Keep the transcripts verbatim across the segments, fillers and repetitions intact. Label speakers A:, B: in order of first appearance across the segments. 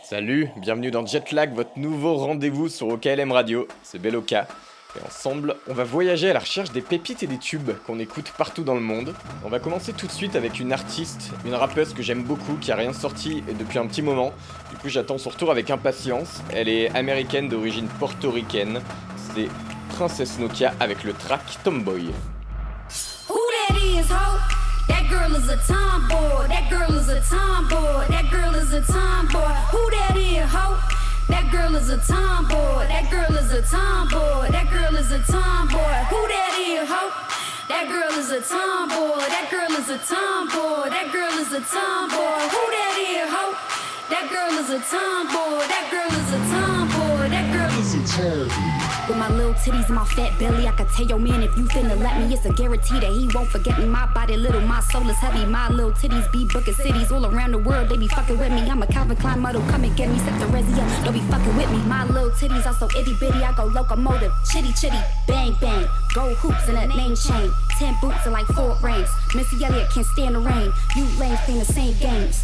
A: Salut, bienvenue dans Jetlag, votre nouveau rendez-vous sur O K L M Radio, c'est Beloka. Et ensemble, on va voyager à la recherche des pépites et des tubes qu'on écoute partout dans le monde. On va commencer tout de suite avec une artiste, une rappeuse que j'aime beaucoup, qui a rien sorti depuis un petit moment. Du coup, j'attends son retour avec impatience. Elle est américaine d'origine portoricaine. C'est Princess Nokia avec le track Tomboy.
B: Who that is, ho? That girl is a tomboy. That girl is a tomboy. That girl is a tomboy. Who that is, ho? That girl is a tomboy. That girl is a tomboy. That girl is a tomboy. Who that is, ho? That girl is a tomboy. That girl is a tomboy. That girl is a tomboy. Who that is, ho? That girl is a tomboy. That girl is a tomboy. That girl is a tomboy. With my little titties and my fat belly, I could tell your man if you finna let me, it's a guarantee that he won't forget me. My body little, my soul is heavy. My little titties be booking cities all around the world. They be fucking with me. I'm a Calvin Klein model, come and get me. Set the resi up, don't be fucking with me. My little titties are so itty bitty, I go locomotive, chitty chitty, bang bang. Gold hoops and a name chain, ten boots and like four rings. Missy Elliott can't stand the rain. You lames playing the same games.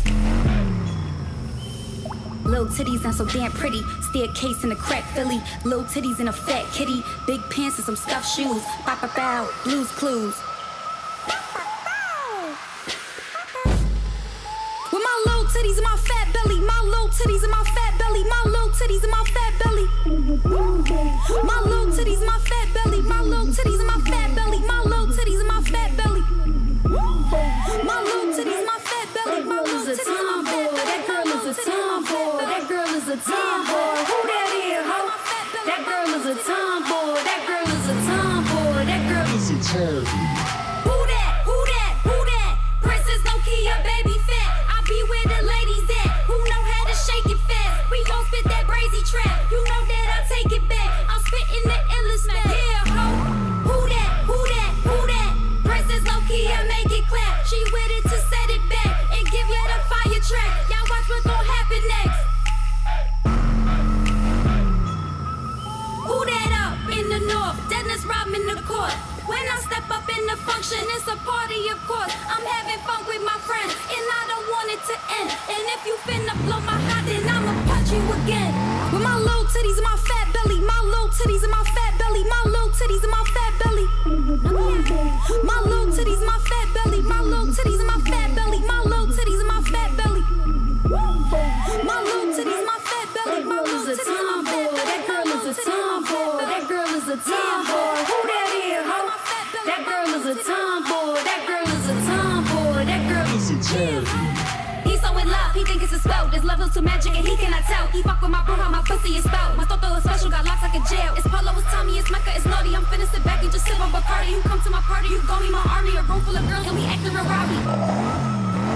B: Little titties and so damn pretty. Staircase in a crack Philly. Little titties and a fat kitty. Big pants and some stuffed shoes. Bow bow bow. Blues Clues. With my little titties and my fat belly. My little titties and my fat belly. My little titties and my fat belly. My little titties and my fat belly. My little titties and my fat belly. My little titties and my fat belly. My little titties and my fat belly. My little titties and my fat belly. That girl is a tomboy. That girl is a tomboy. Who that is, ho? That girl is a tomboy. That girl is a tomboy. That girl is a tomboy. Who that? Who that? Who that? Princess Nokia, baby fat. I be where the ladies at. Who know how to shake it fast? We gon' spit that brazy trap. You know that I take it back. I'm spitting the endless smack. Yeah, ho. Who that? Who that? Who that? Princess Nokia, make it clap. She with it to set it back and give you the fire track. Y'all watch what gon' happen next. Who that up in the north? Dennis Rodman the court. When I step up in the function, it's a party, of course. I'm having fun with my friends, and I don't want it to end. And if you finna blow my hot, then I'ma punch you again. With my little titties and my fat belly, my little titties and my fat belly, my little titties and my fat belly. My little titties and my fat belly, my little titties and my fat belly, my little titties and my fat belly. My little titties and my fat belly, my little titties and my fat belly. That girl is a tomboy. That girl is a tomboy. Who that is, ho? That girl is a tomboy. That girl is a tomboy. That girl is a tomboy. He's so in love, he think it's a spell. This level's too magic and he cannot tell. He fuck with my bro, how my pussy is spelled. My toto is special, got locks like a jail. It's Polo, it's Tommy, it's Mecca, it's naughty. I'm finna sit back and just sip on Bacardi. You come to my party, you gon' be my army. A room full of girls and we acting real rowdy.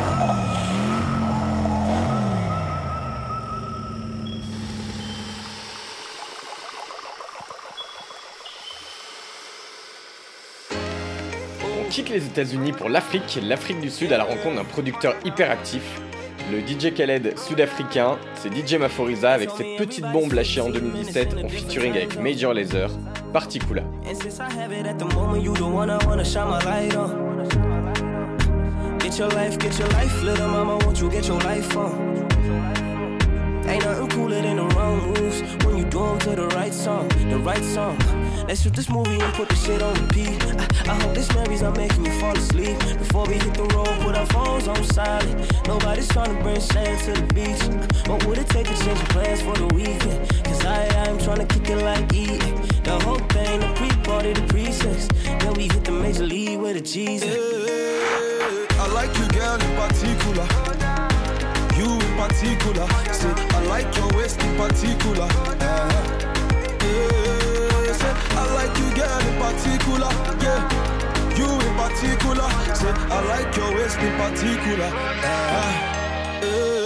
A: On quitte les États-Unis pour l'Afrique, l'Afrique du Sud à la rencontre d'un producteur hyper actif. Le D J Khaled sud-africain, c'est D J Maphorisa avec cette petite bombe lâchée en deux mille dix-sept en featuring avec Major Lazer, Particula.
C: Get your life, get your life, little mama, won't you get your life on? Ain't nothing cooler than the wrong moves when you do them to the right song, the right song. Let's shoot this movie and put the shit on repeat. I, I hope this memories are making you fall asleep. Before we hit the road, put our phones on silent. Nobody's trying to bring sand to the beach. What would it take to change your plans for the weekend? Cause I, I'm trying to kick it like eating. The whole thing, the pre-party, the pre-sex. Then we hit the major league with a cheese.
D: Hey, I like you, girl, in particular. You in particular. Say, I like your waist in particular. Uh-huh. Yeah, say, I like you, girl, in particular. Yeah, you in particular. Say, I like your waist in particular. Uh-huh. Yeah.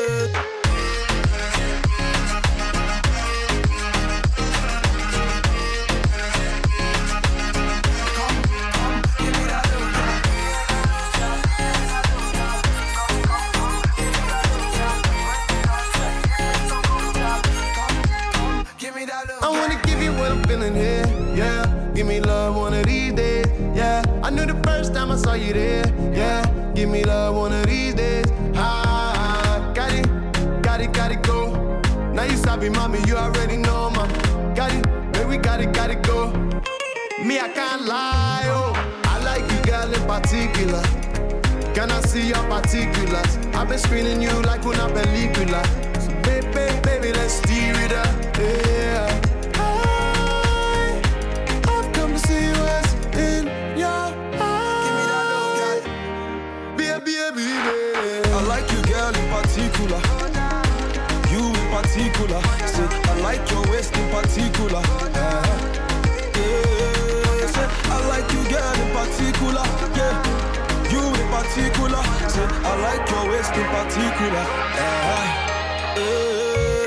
E: Here, yeah. Give me love one of these days, yeah. I knew the first time I saw you there, yeah. Give me love one of these days. Ah, got it, got it, got it, go. baby mommy, you already know, man. Got it, baby, got it, got it, go. Me, I can't lie, oh. I like you, girl, in particular. Can I see your particulars? I've been screening you like una película. So baby, baby, let's steer it up, yeah. I, I've come to see what's in your eyes. Give me that love, girl. Baby, baby, baby.
D: I like you, girl, in particular. You in particular. Say, I like your waist in particular. Uh-huh. Yeah. Say, I like you, girl, in particular. Yeah. You in particular, say I like your waist in particular. Uh, uh.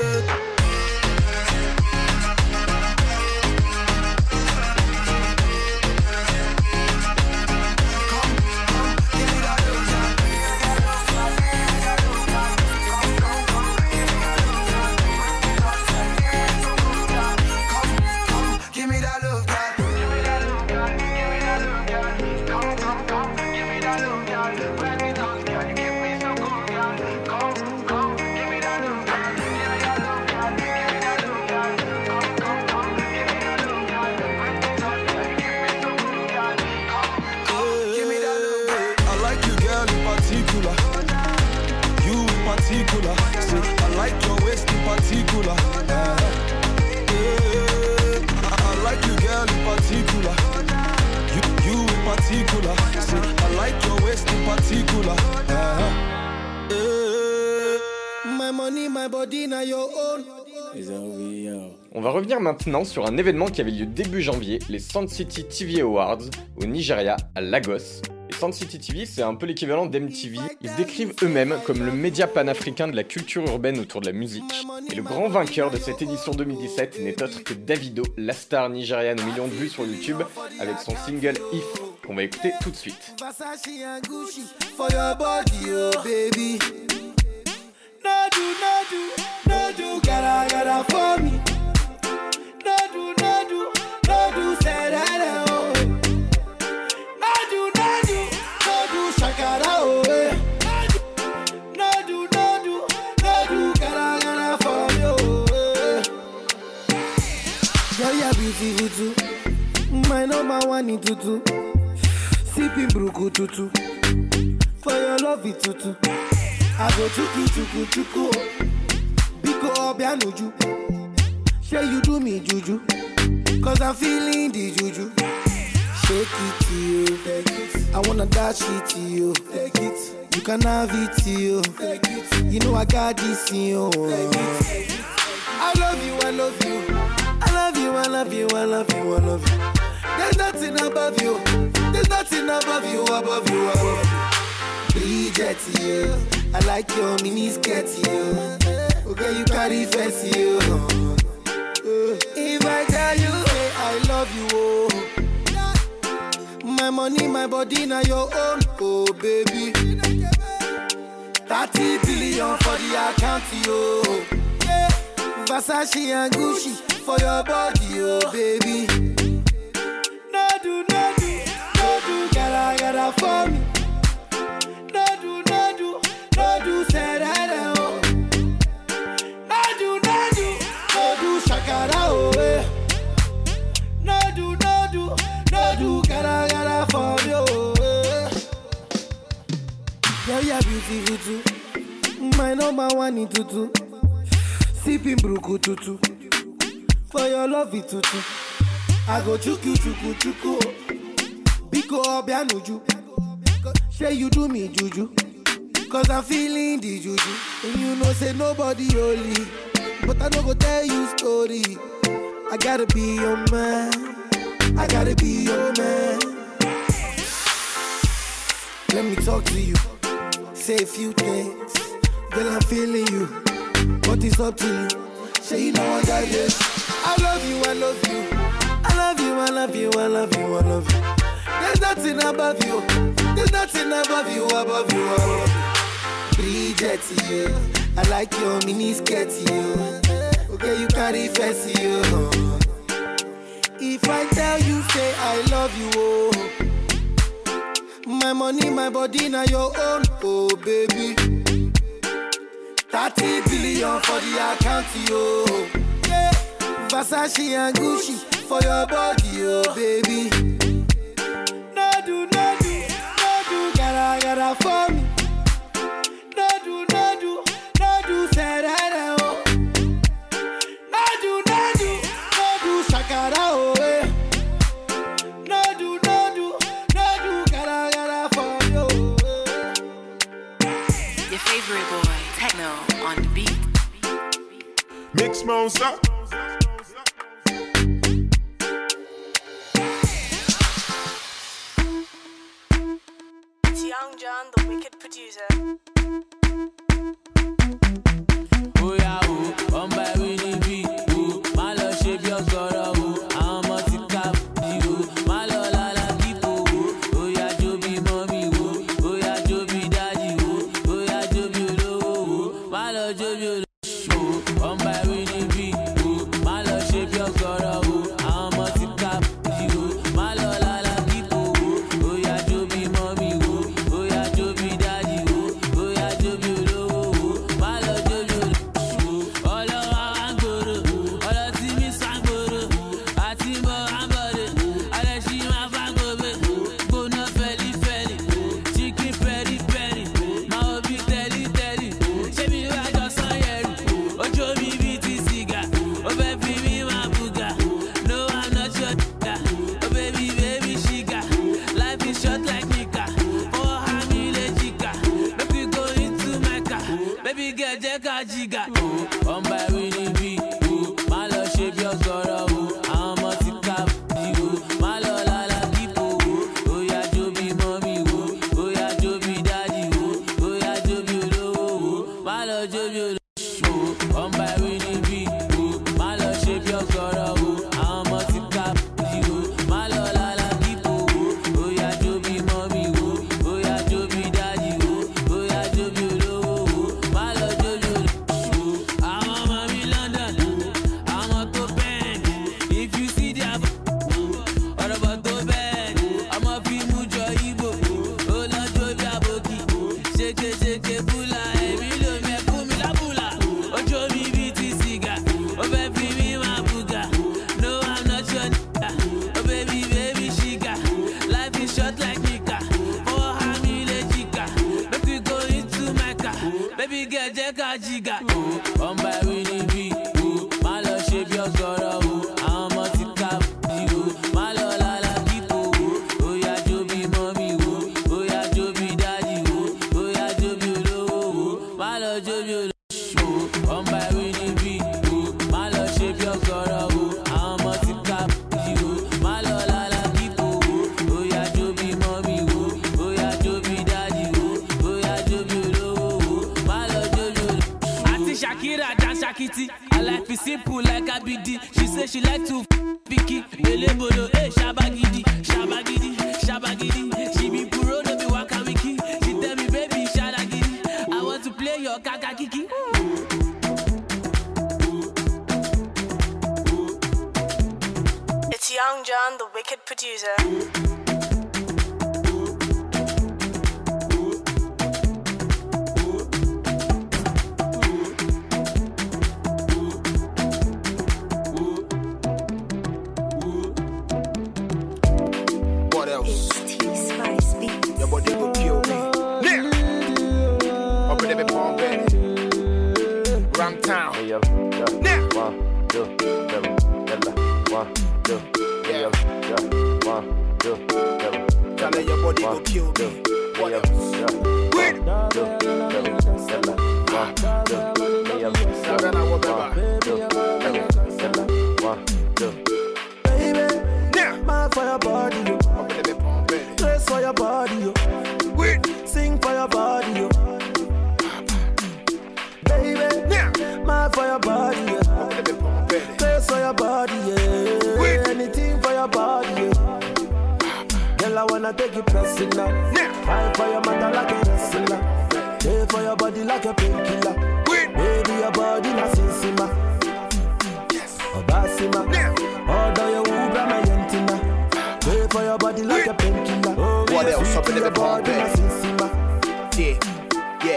A: On va revenir maintenant sur un événement qui avait lieu début janvier, les Sound City T V Awards au Nigeria, à Lagos. Les Sound City T V, c'est un peu l'équivalent d'M T V. Ils se décrivent eux-mêmes comme le média panafricain de la culture urbaine autour de la musique. Et le grand vainqueur de cette édition deux mille dix-sept n'est autre que Davido, la star nigériane aux millions de vues sur YouTube, avec son single If, qu'on va écouter tout de suite.
F: My number one in tutu, sipping bruku tutu. For your love it tutu, I go chuku chuku chuku. Biko obianuju, say you do me juju, cause I'm feeling the juju. Shake it to you, take it. I wanna dash it to you, take it. You can have it to you, take it. You know I got this in you. Take it. I love you, I love you. I love you, I love you, I love you, I love you. There's nothing above you. There's nothing above you, above you, above you. Bridget, you. I like your mini skirt, you. Okay, you carry fancy, you. If I tell you, hey, I love you, oh. My money, my body, now your own, oh baby. thirty billion for the account, yo. Yeah. Versace and Gucci for your body, oh baby. No do, no do, no do, gotta, gotta for me. No do, no do, no do, say that, oh. No do, no do, no do, shakara, oh, eh. No do, no do, no do, gotta, gotta for me, oh, eh. Yeah, yeah, beautiful too. My number one in tutu. Sipping bruku tutu. For your love it tutu. I go chuku chuku chuku. Biko obianuju. Say you do me juju. Cause I'm feeling the juju. And you know say nobody holy. But I no go tell you story. I gotta be your man. I gotta be your man. Let me talk to you. Say a few things. Girl, I'm feeling you. But it's up to you. Say you know I got this. I love you, I love you. I love you, I love you, I love you, I love you. There's nothing above you. There's nothing above you, above you, above you. Bridget, you. I like your mini skirt, you. Okay, you carry fancy, you. If I tell you, say I love you, oh. My money, my body, now your own, oh baby. thirty billion for the account, yo. Yeah, Versace and Gucci for your body, oh baby. No do, no do, no do, gotta, gotta for me. No do, no do, no do, say that, oh. No do, no do, no do, shakara, oh, eh. No do, no do, no do, gotta, gotta for you.
G: Your favorite boy, Techno, on the beat.
H: Mix Monster.
G: It's Young John, the wicked producer.
C: Oh yeah, oh, on by Winnie B. Oh, my love shape your girl. Oh, I'm a tika. Oh, my love la la people. Oh, yeah, Joby mommy. Oh, oh yeah, Joby daddy. Oh, oh yeah, Joby low. Oh, my love Joby. Oh, on by Winnie B. Oh, my love shape your girl. Oh, I'm a tika. Oh, my love la la people. Oh, yeah, Joby mommy. Oh, oh yeah, Joby daddy. Oh, oh yeah, Joby low. Oh, my love Joby. Jiga, oh, on by Winnie B. Oh, my love shape your girl. Oh, I'm a tika. Oh, my love la la people. Oh, yeah, Joby mommy. Oh, oh yeah, Joby daddy. Oh, oh yeah, Joby low. Oh, my love Joby. Oh, on by Winnie B. Oh, my love shape your girl. Oh, I'm a tika. Oh, my love la la people. Oh, yeah, Joby mommy. Oh, oh yeah, Joby daddy. Oh, oh yeah, Joby low. Oh, my love Joby. Jiga, oh, on by Winnie B. Oh, my love shape your girl. Oh, I'm a tika. Oh, my love la la people. Oh, yeah, Joby mommy. Oh, oh yeah, Joby daddy. Oh, oh yeah, Joby low. Oh, my love Joby. Oh, on by Winnie B. Oh, my love shape your girl. Oh, I'm a tika. Oh, my love la la people. Oh, yeah, Joby mommy. Oh, oh yeah, Joby daddy. Oh, oh yeah, Joby low. Oh, my love Joby. Shakira dance Shakiti. I like it simple like a B D. She say she like to f- picky. Elebolo, eh, Shabagidi, Shabagidi, Shabagidi. She be puro, no be waka wiki. She tell me, baby, Shabagidi. I want to play your kaka kiki.
G: It's Young John, the wicked producer.
H: Your body will kill me. Yeah. Up in the bomb, baby. Ram town. Yeah. One, two, seven, one, two, yeah. One, two, seven. Tell her your body will kill me. What else? Wait. One, two, seven, one, two, seven, one, two.
F: Baby, yeah. Mad for your body, yo.
H: Up in the bomb, baby.
F: Dress for your body, yo.
H: Wait.
F: Sing for your body, yo. Baby,
H: Yeah.
F: mad for your body, yo.
H: Up in the bomb, baby.
F: Dress for your body, yeah.
H: Wait.
F: Anything for your body, yeah. Girl, I wanna take you pressing now.
H: Yeah.
F: Fight for your mother like a wrestler. Pay for your body like a painkiller.
H: Wait.
F: Baby, your body na sinsima.
H: Yes.
F: Obasima.
H: Yeah.
F: Order your Uber, my yentina. Pay for your body like a painkiller. Oh,
H: What
F: yeah,
H: else
F: sweet
H: up in
F: to
H: the
F: your
H: bomb,
F: body na
H: baby?
F: sinsima.
H: Yeah. Yeah.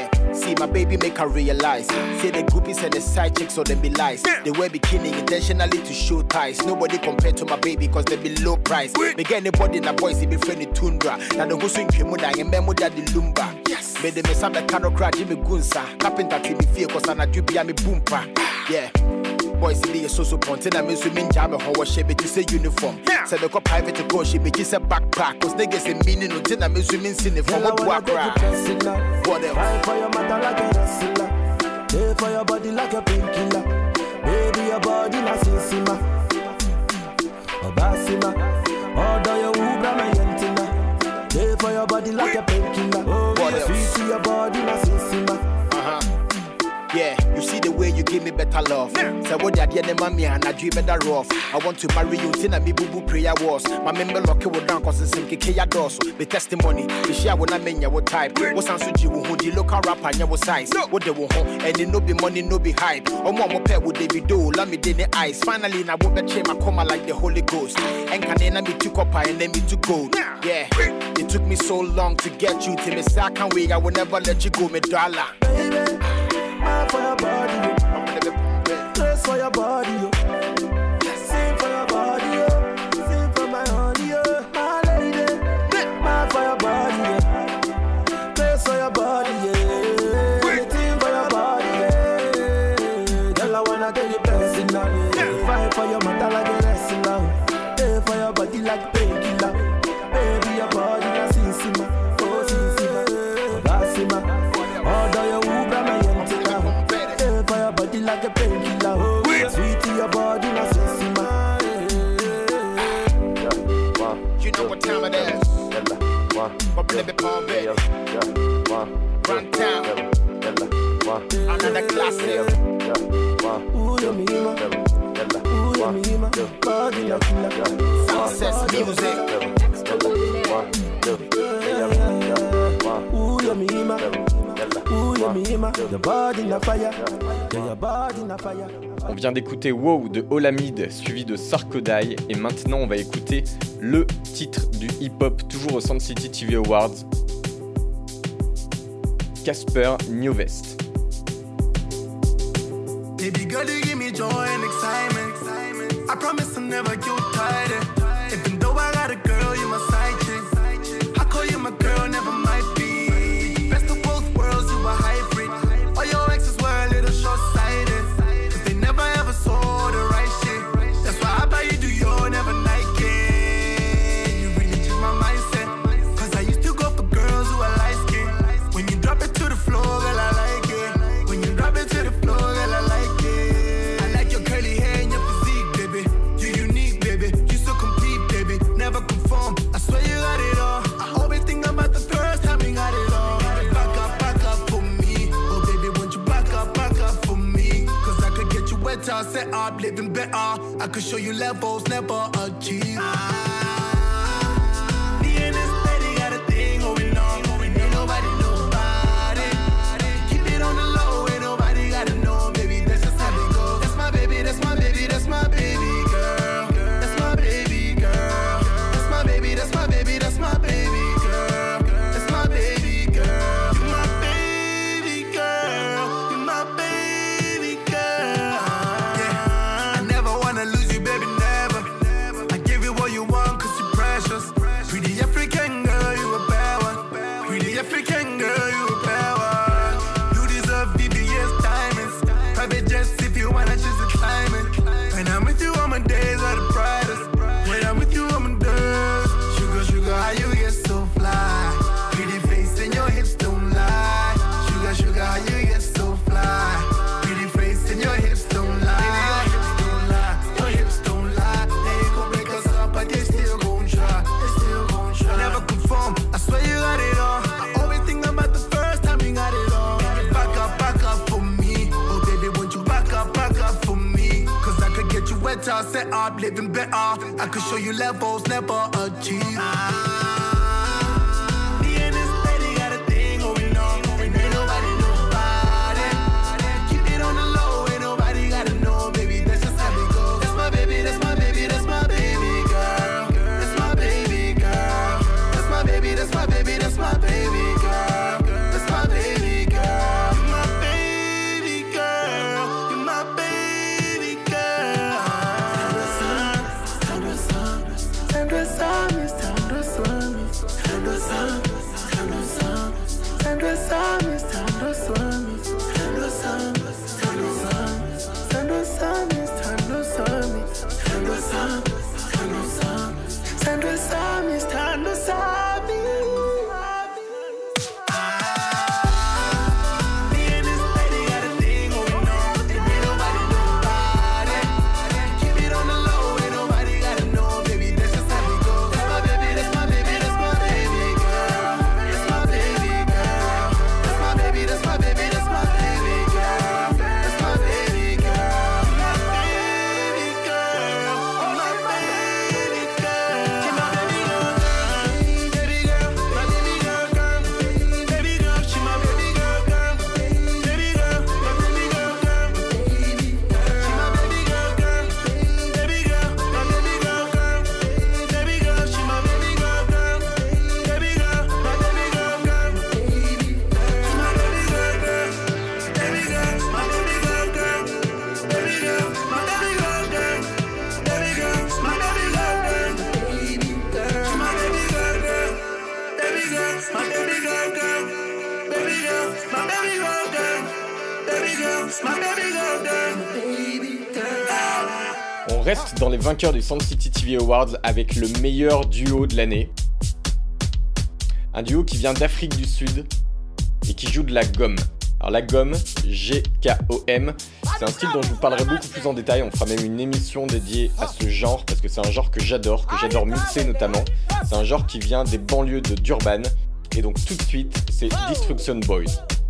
H: see my baby make her realize. Say the groupies and the side chicks, so them be lies. They wear bikini intentionally to show ties. Nobody compared to my baby cause they be low price. Me get anybody in the boys, they be friendly tundra. Now the go swing Kimuda and memo that the lumba. Yes. Made them some the cano crack Jimmy Gunsa. Carpenter to me fear cause I'm a dubi me boompa. Yeah. Boys see me a so-so ponte and I'm swimming jam a whole shape to say uniform. Say the private to go, she make it a backpack. Cause niggas in meaning until I'm swimming sin from a walk crack. What else?
F: Fight for your mother like a wrestler. Pay for your body like a painkiller. Baby, your body like Sinsima. Obasima. Order your Ubra, my yentina. Pay for your body like a painkiller. What else? Sweet to your body like Sinsima.
H: Uh-huh. Yeah, you see the way you give me better love. Say what you did, mommy, and I dream better rough. I want to marry you, tina me boo boo prayer was. My member lock it down cause it's in Kikaya doors. Be testimony, the share when I mean your type. What's answer you who the local rapper and your size? What they will home, and it no be money, no be hype. Or more pet would they be do, let me in the eyes. Finally, I won't bet my coma like the Holy Ghost. And can then me to copper and then me to gold. Yeah, it took me so long to get you to me, so I can't wait, I will never let you go, me dollar.
F: Baby. For your body, yo. Dress for your body, yo. Sing for your body, yo. Sing for my honey, yo. My lady, mad for your body, yo. Dress for your body, yeah. Anything for your body, yeah. Girl, I wanna get you blessing now, yeah. Fight for your mother like a wrestler. Pay for your body like painkiller. Baby, your body like Sinsima. Oh, Sinsima. Obasima. Order your Ubra, my body like a painkiller, oh, sweet to your body, na Sinsima.
H: You know what time it is. My baby Palm Bay. Run town. Another classic.
F: Ooh, you mima. Ooh, you mima. Body like killer.
H: Success music.
F: Ooh, you mima. Ooh, you mima. Your body na fire. Your body na fire.
A: On vient d'écouter Wow de Olamide, suivi de Sarkodai, et maintenant on va écouter le titre du hip-hop, toujours au Sound City T V Awards, Casper Nyovest.
E: Baby girl, you give me joy and excitement. I promise I'll never get tired. Even though I got a girl, you're my side chick. I call you my girl, never might be. Best of both worlds, you a hybrid. All your exes were a little short-sighted. Cause they never ever saw the right shit. That's why I buy you do your never Nike. You really changed my mindset. Cause I used to go for girls who are light-skinned. When you drop it to the floor, girl, I like it. When you drop it to the floor, girl, I like it. I like your curly hair and your physique, baby. You're unique, baby. You so complete, baby. Never conform. I swear you got it all. I always think about the first time you got it all. Back up, back up for me. Oh, baby, won't you back up, back up for me? Cause I could get you wetter, set up, living better. I could show you levels never achieved. Me and this lady got a thing going on. Ain't nobody know about it. Keep it on the low, ain't nobody gotta know, baby. That's just how it goes. That's my baby, that's my baby, that's my baby girl. That's my baby girl. That's my baby, that's my baby, that's my baby girl. That's my baby girl. You my baby girl. You my baby girl. Yeah. I never wanna lose you, baby, never. I give you what you want cause you're precious. Pretty African girl, you a bad one. Pretty African girl, you a bad one. You deserve V V S diamonds. Private jets if you wanna choose a climate. When I'm with you, all my days are the brightest. When I'm with you, all my days. Sugar, sugar, how you get so fly? Pretty face and your hips don't lie. Sugar, sugar, how you get so fly? Pretty face and your hips don't lie. Baby, your hips don't lie. Your hips don't lie. They ain't gon' break us up, but they still gon' try. They still gon' try. Never conform. I swear you got it all. I always think about the first time you got it all. Back up, back up for me. Oh baby, won't you back up, back up for me? Cause I could get you wetter, set up, living better. I could show you levels never achieved. Me and this lady got a thing going on. Ain't nobody know about it. Keep it on the low, ain't nobody gotta know, baby. That's just how it goes. That's my baby, that's my baby, that's my baby girl. That's my baby girl. That's my baby, that's my baby, that's my baby girl. That's my baby girl.
A: On reste dans les vainqueurs du Sound City T V Awards avec le meilleur duo de l'année. Un duo qui vient d'Afrique du Sud et qui joue de la gomme. Alors la gomme, G K O M, c'est un style dont je vous parlerai beaucoup plus en détail. On fera même une émission dédiée à ce genre parce que c'est un genre que j'adore, que j'adore mixer notamment. C'est un genre qui vient des banlieues de Durban. Et donc tout de suite, c'est Destruction Boys.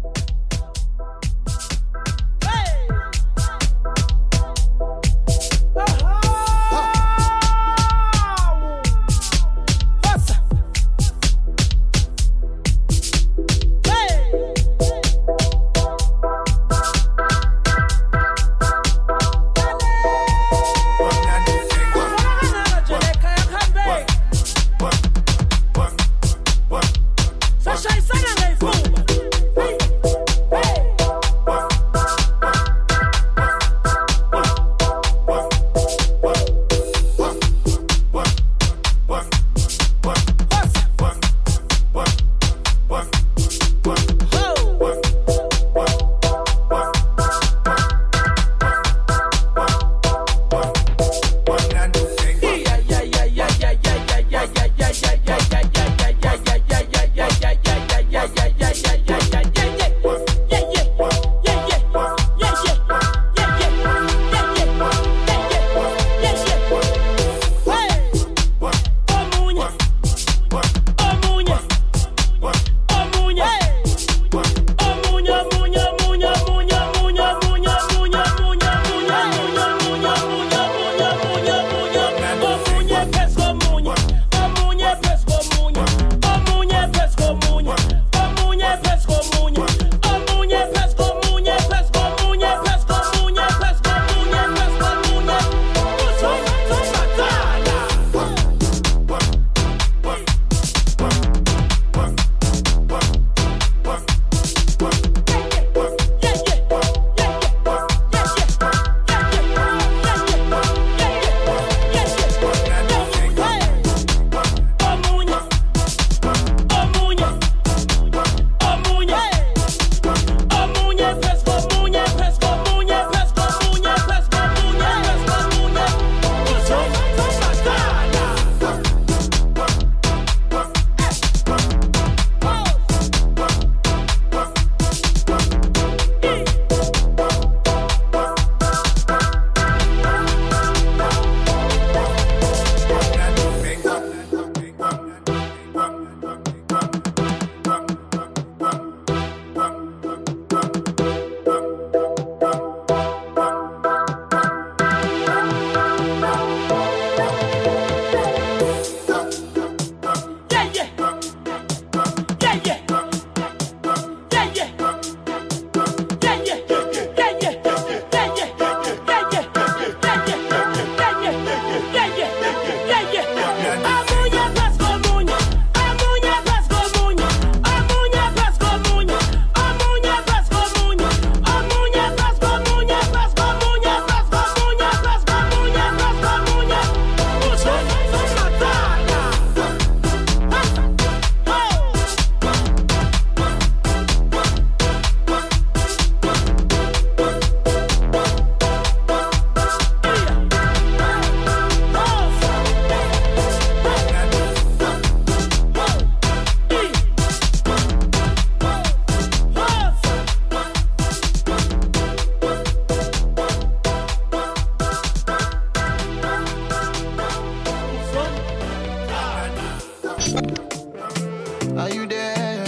E: Are you there?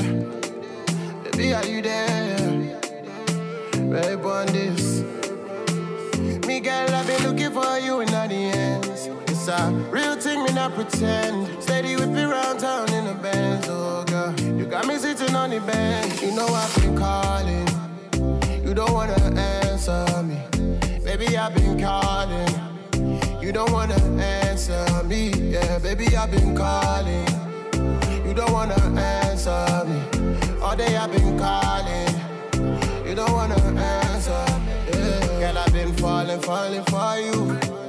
E: Baby, are you there? Right on this. Me girl, I've been looking for you in all the ends. It's a real thing, me not pretend. Steady whip me round town in a Benz, oh girl. You got me sitting on the bench. You know I've been calling. You don't wanna answer me. Baby, I've been calling. You don't wanna answer me. Yeah, baby, I've been calling. You don't wanna answer me. All day I've been calling. You don't wanna answer me. Yeah. Girl, I've been falling, falling for you.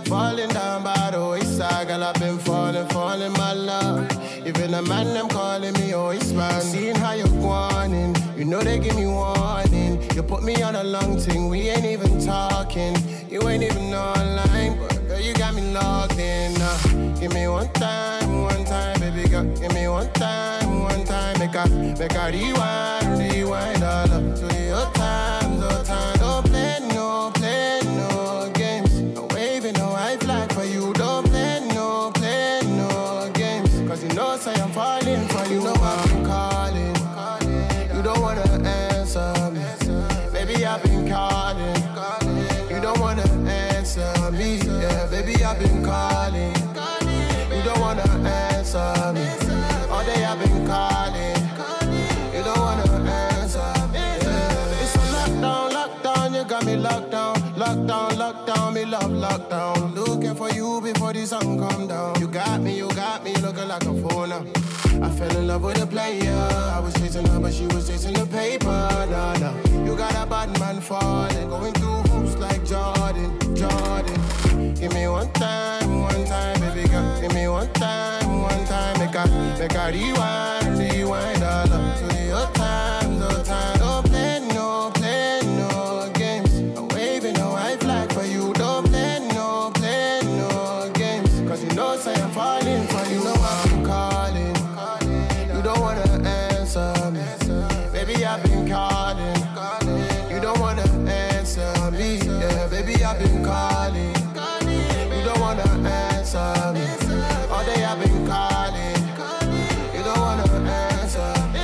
E: falling down by the wayside, girl, I've been falling, falling my love. Even the man, them calling me always man. Seeing how you're whining, you know they give me warning. You put me on a long thing, we ain't even talking. You ain't even online, but girl, you got me logged in. Uh, give me one time, one time, baby girl. Give me one time, one time. Make a, make a rewind, rewind all up to your times, your time. Don't play no, play no games. I'm waving a white flag for you. Don't play no, play no games. Cause you know, say I'm falling for you. You know I've been calling. You don't wanna answer me. Baby, I've been calling. You don't wanna answer me. Yeah, baby, I've been calling. You don't wanna answer me. All day I've been calling. You don't wanna answer me. Yeah. It's a lockdown, lockdown. You got me locked down. Lockdown, lockdown. Me love lockdown. Looking for you before the sun come down. You got me, you got me looking like a phone now. I fell in love with a player. I was chasing her, but she was chasing the paper. Nah, nah. You got a bad man falling, going through hoops like Jordan, Jordan. Give me one time, one time, baby girl. Give me one time, one time. Make a, make a rewind, rewind all up to your time, your time. Don't play no, play no games. I'm waving a white flag for you. Don't play no, play no games. Cause you know, say I'm falling for you. You know I'm calling. You don't wanna answer me. Baby, I've been calling. You don't wanna answer me. Yeah, baby, I've been calling. You don't wanna answer me. All day I've been calling. You don't wanna answer me.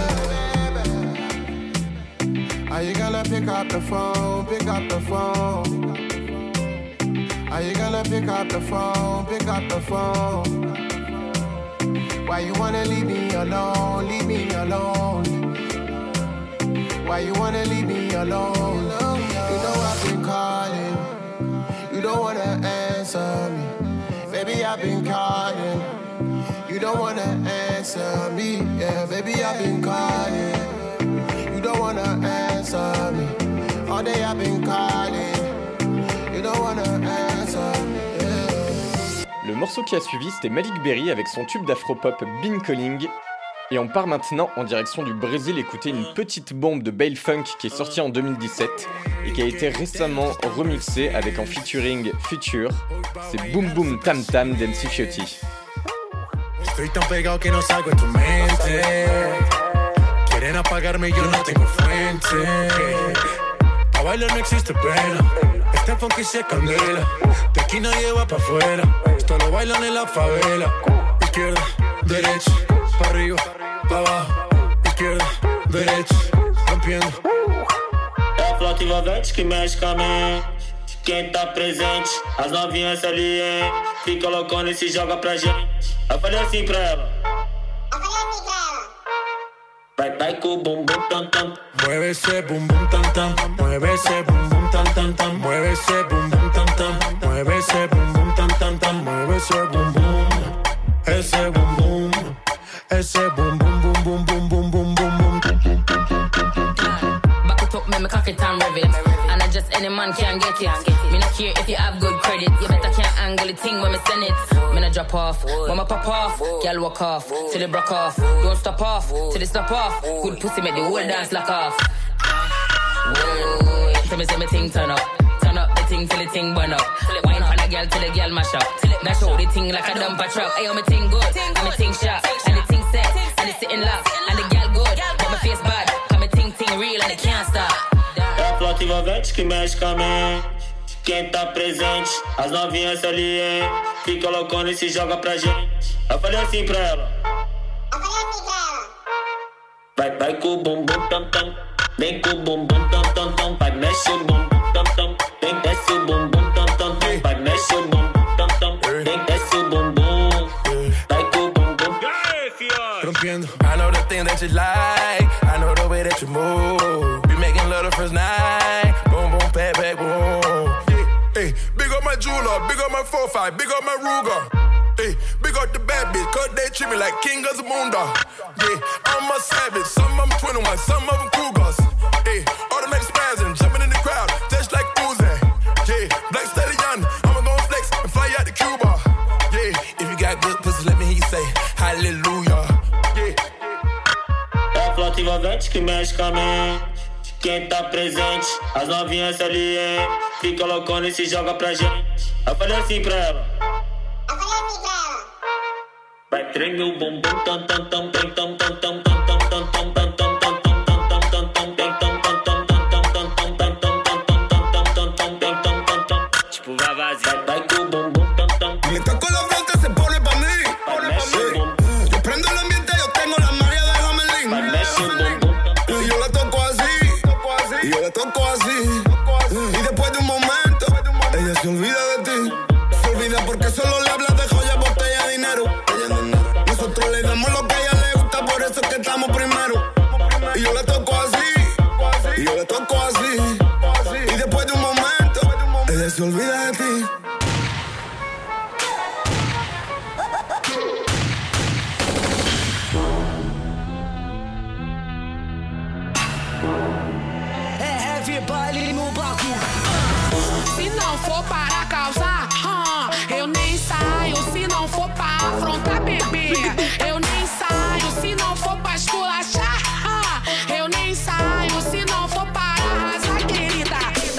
E: Yeah. Are you gonna pick up the phone? Pick up the phone. Are you gonna pick up the phone? Pick up the phone. Why you wanna leave me alone? Leave me alone. Why you wanna leave me alone? You know I've been calling. You don't wanna answer me. Baby, I've been calling. You don't wanna answer me. Yeah, baby, I've been calling. You don't wanna answer me. All day I've been calling. You don't wanna answer me.
A: Le morceau qui a suivi, c'était Malik Berry avec son tube d'afropop Been Calling. Et on part maintenant en direction du Brésil écouter une petite bombe de Bail Funk qui est sortie en deux mille dix-sept et qui a été récemment remixée avec en featuring Future. C'est Boom Boom Tam Tam d'M C Fiotti.
I: Estoy tan pegado que no salgo de tu mente. Quieren apagarme y yo no tengo frente. Pa' bailar no existe pena. Este funky se candela. De aquí nadie va pa' afuera. Esto lo bailan en la favela. Izquierda, derecha, pa' arriba, pa' abajo. Izquierda, derecha, rompiendo.
J: É a flauta envolvente que mexe com a mente. Quem tá presente, as novinhas ali, hein? Fica loucona e se joga pra gente. Eu falei assim pra ela. Eu falei assim pra ela. Vai, vai com o bum bum tam tam.
I: Mueve ese bum bum tam tam. Mueve ese bum bum tam tam tam. Mueve ese bum bum tam tam. Mueve ese bum bum tam tam tam. Mueve ese bum bum. Ese bum bum. Ese bum bum bum bum bum bum bum bum bum.
K: Back it up, me me cock it and rev it. And I just any man can get it. Me not care if you have good credit. You better can't angle the thing when me send it. Me not drop off, when me pop off. Girl walk off, till it broke off. Don't stop off, till it stop off. Good pussy make the whole dance lock off. Whoa, tell me say me thing turn up. Turn up the thing till the thing burn up. Wine for the girl till the girl mash up. Now show the thing like a dumper truck. Ayo me thing good, and me thing sharp. And the thing set, and it's sitting locked. And the girl good, but my face bad. Cause me thing thing real and it can't stop.
J: É a flauta envolvente que mexe com a mente. Quem tá presente, as novinhas ali, hein? Fica loucona e se joga pra gente. Eu falei assim pra ela. Eu falei assim pra ela. Vai, vai com o bum bum tam tam. Vem com o bum bum tam tam tam. Vai, mexe o bum bum tam tam. Vem, desce o bum bum tam tam tam. Vai, mexe o bum bum tam tam. Vem, desce o bum bum. Vai com o bum bum.
I: Rompiendo.
L: I know the thing that you like. I know the way that you move. Be making love the first night. Boom, boom, pat, back, boom.
M: Hey, big up my jeweler, big up my four five, big up my Ruger. Hey, big up the bad bitch, cause they treat me like king of the moondog. Yeah, I'm a savage, some of them twenty-one, some of them Cougars. Hey, automatic spazzing, jumping in the crowd, just like Uzi. Yeah, Black Stallion, I'ma gon' flex,
J: pivete que mexe com a mente. Quem tá presente, as novinhas ali, hein? Fica loucona e se joga pra gente. Eu falei assim pra ela.
B: Eu falei assim pra ela.
J: Vai tremer o bumbum, tam tam tam tam tam tam tam tam tam tam tam tam tam. Tipo, vai vazio, vai com o bumbum, tam tam.
N: Me toco la flauta, se pone pa' mí. Yo prendo el ambiente, yo tengo la magia de Hamelin. Y yo la toco así, y yo la toco así. Y después de un momento, ella se olvida de ti. Se olvida porque solo le hablas de joya, botella, dinero. Nosotros le damos lo que a ella le gusta, por eso es que estamos primero. Y yo la toco así, y yo la toco así. Y después de un momento, ella se olvida de ti.
O: É heavy baile no bloco. Se não for para causar, hum, eu nem saio. Se não for pra afrontar, bebê, eu nem saio. Se não for pra esculachar, hum, eu nem saio. Se não for para arrasar, querida.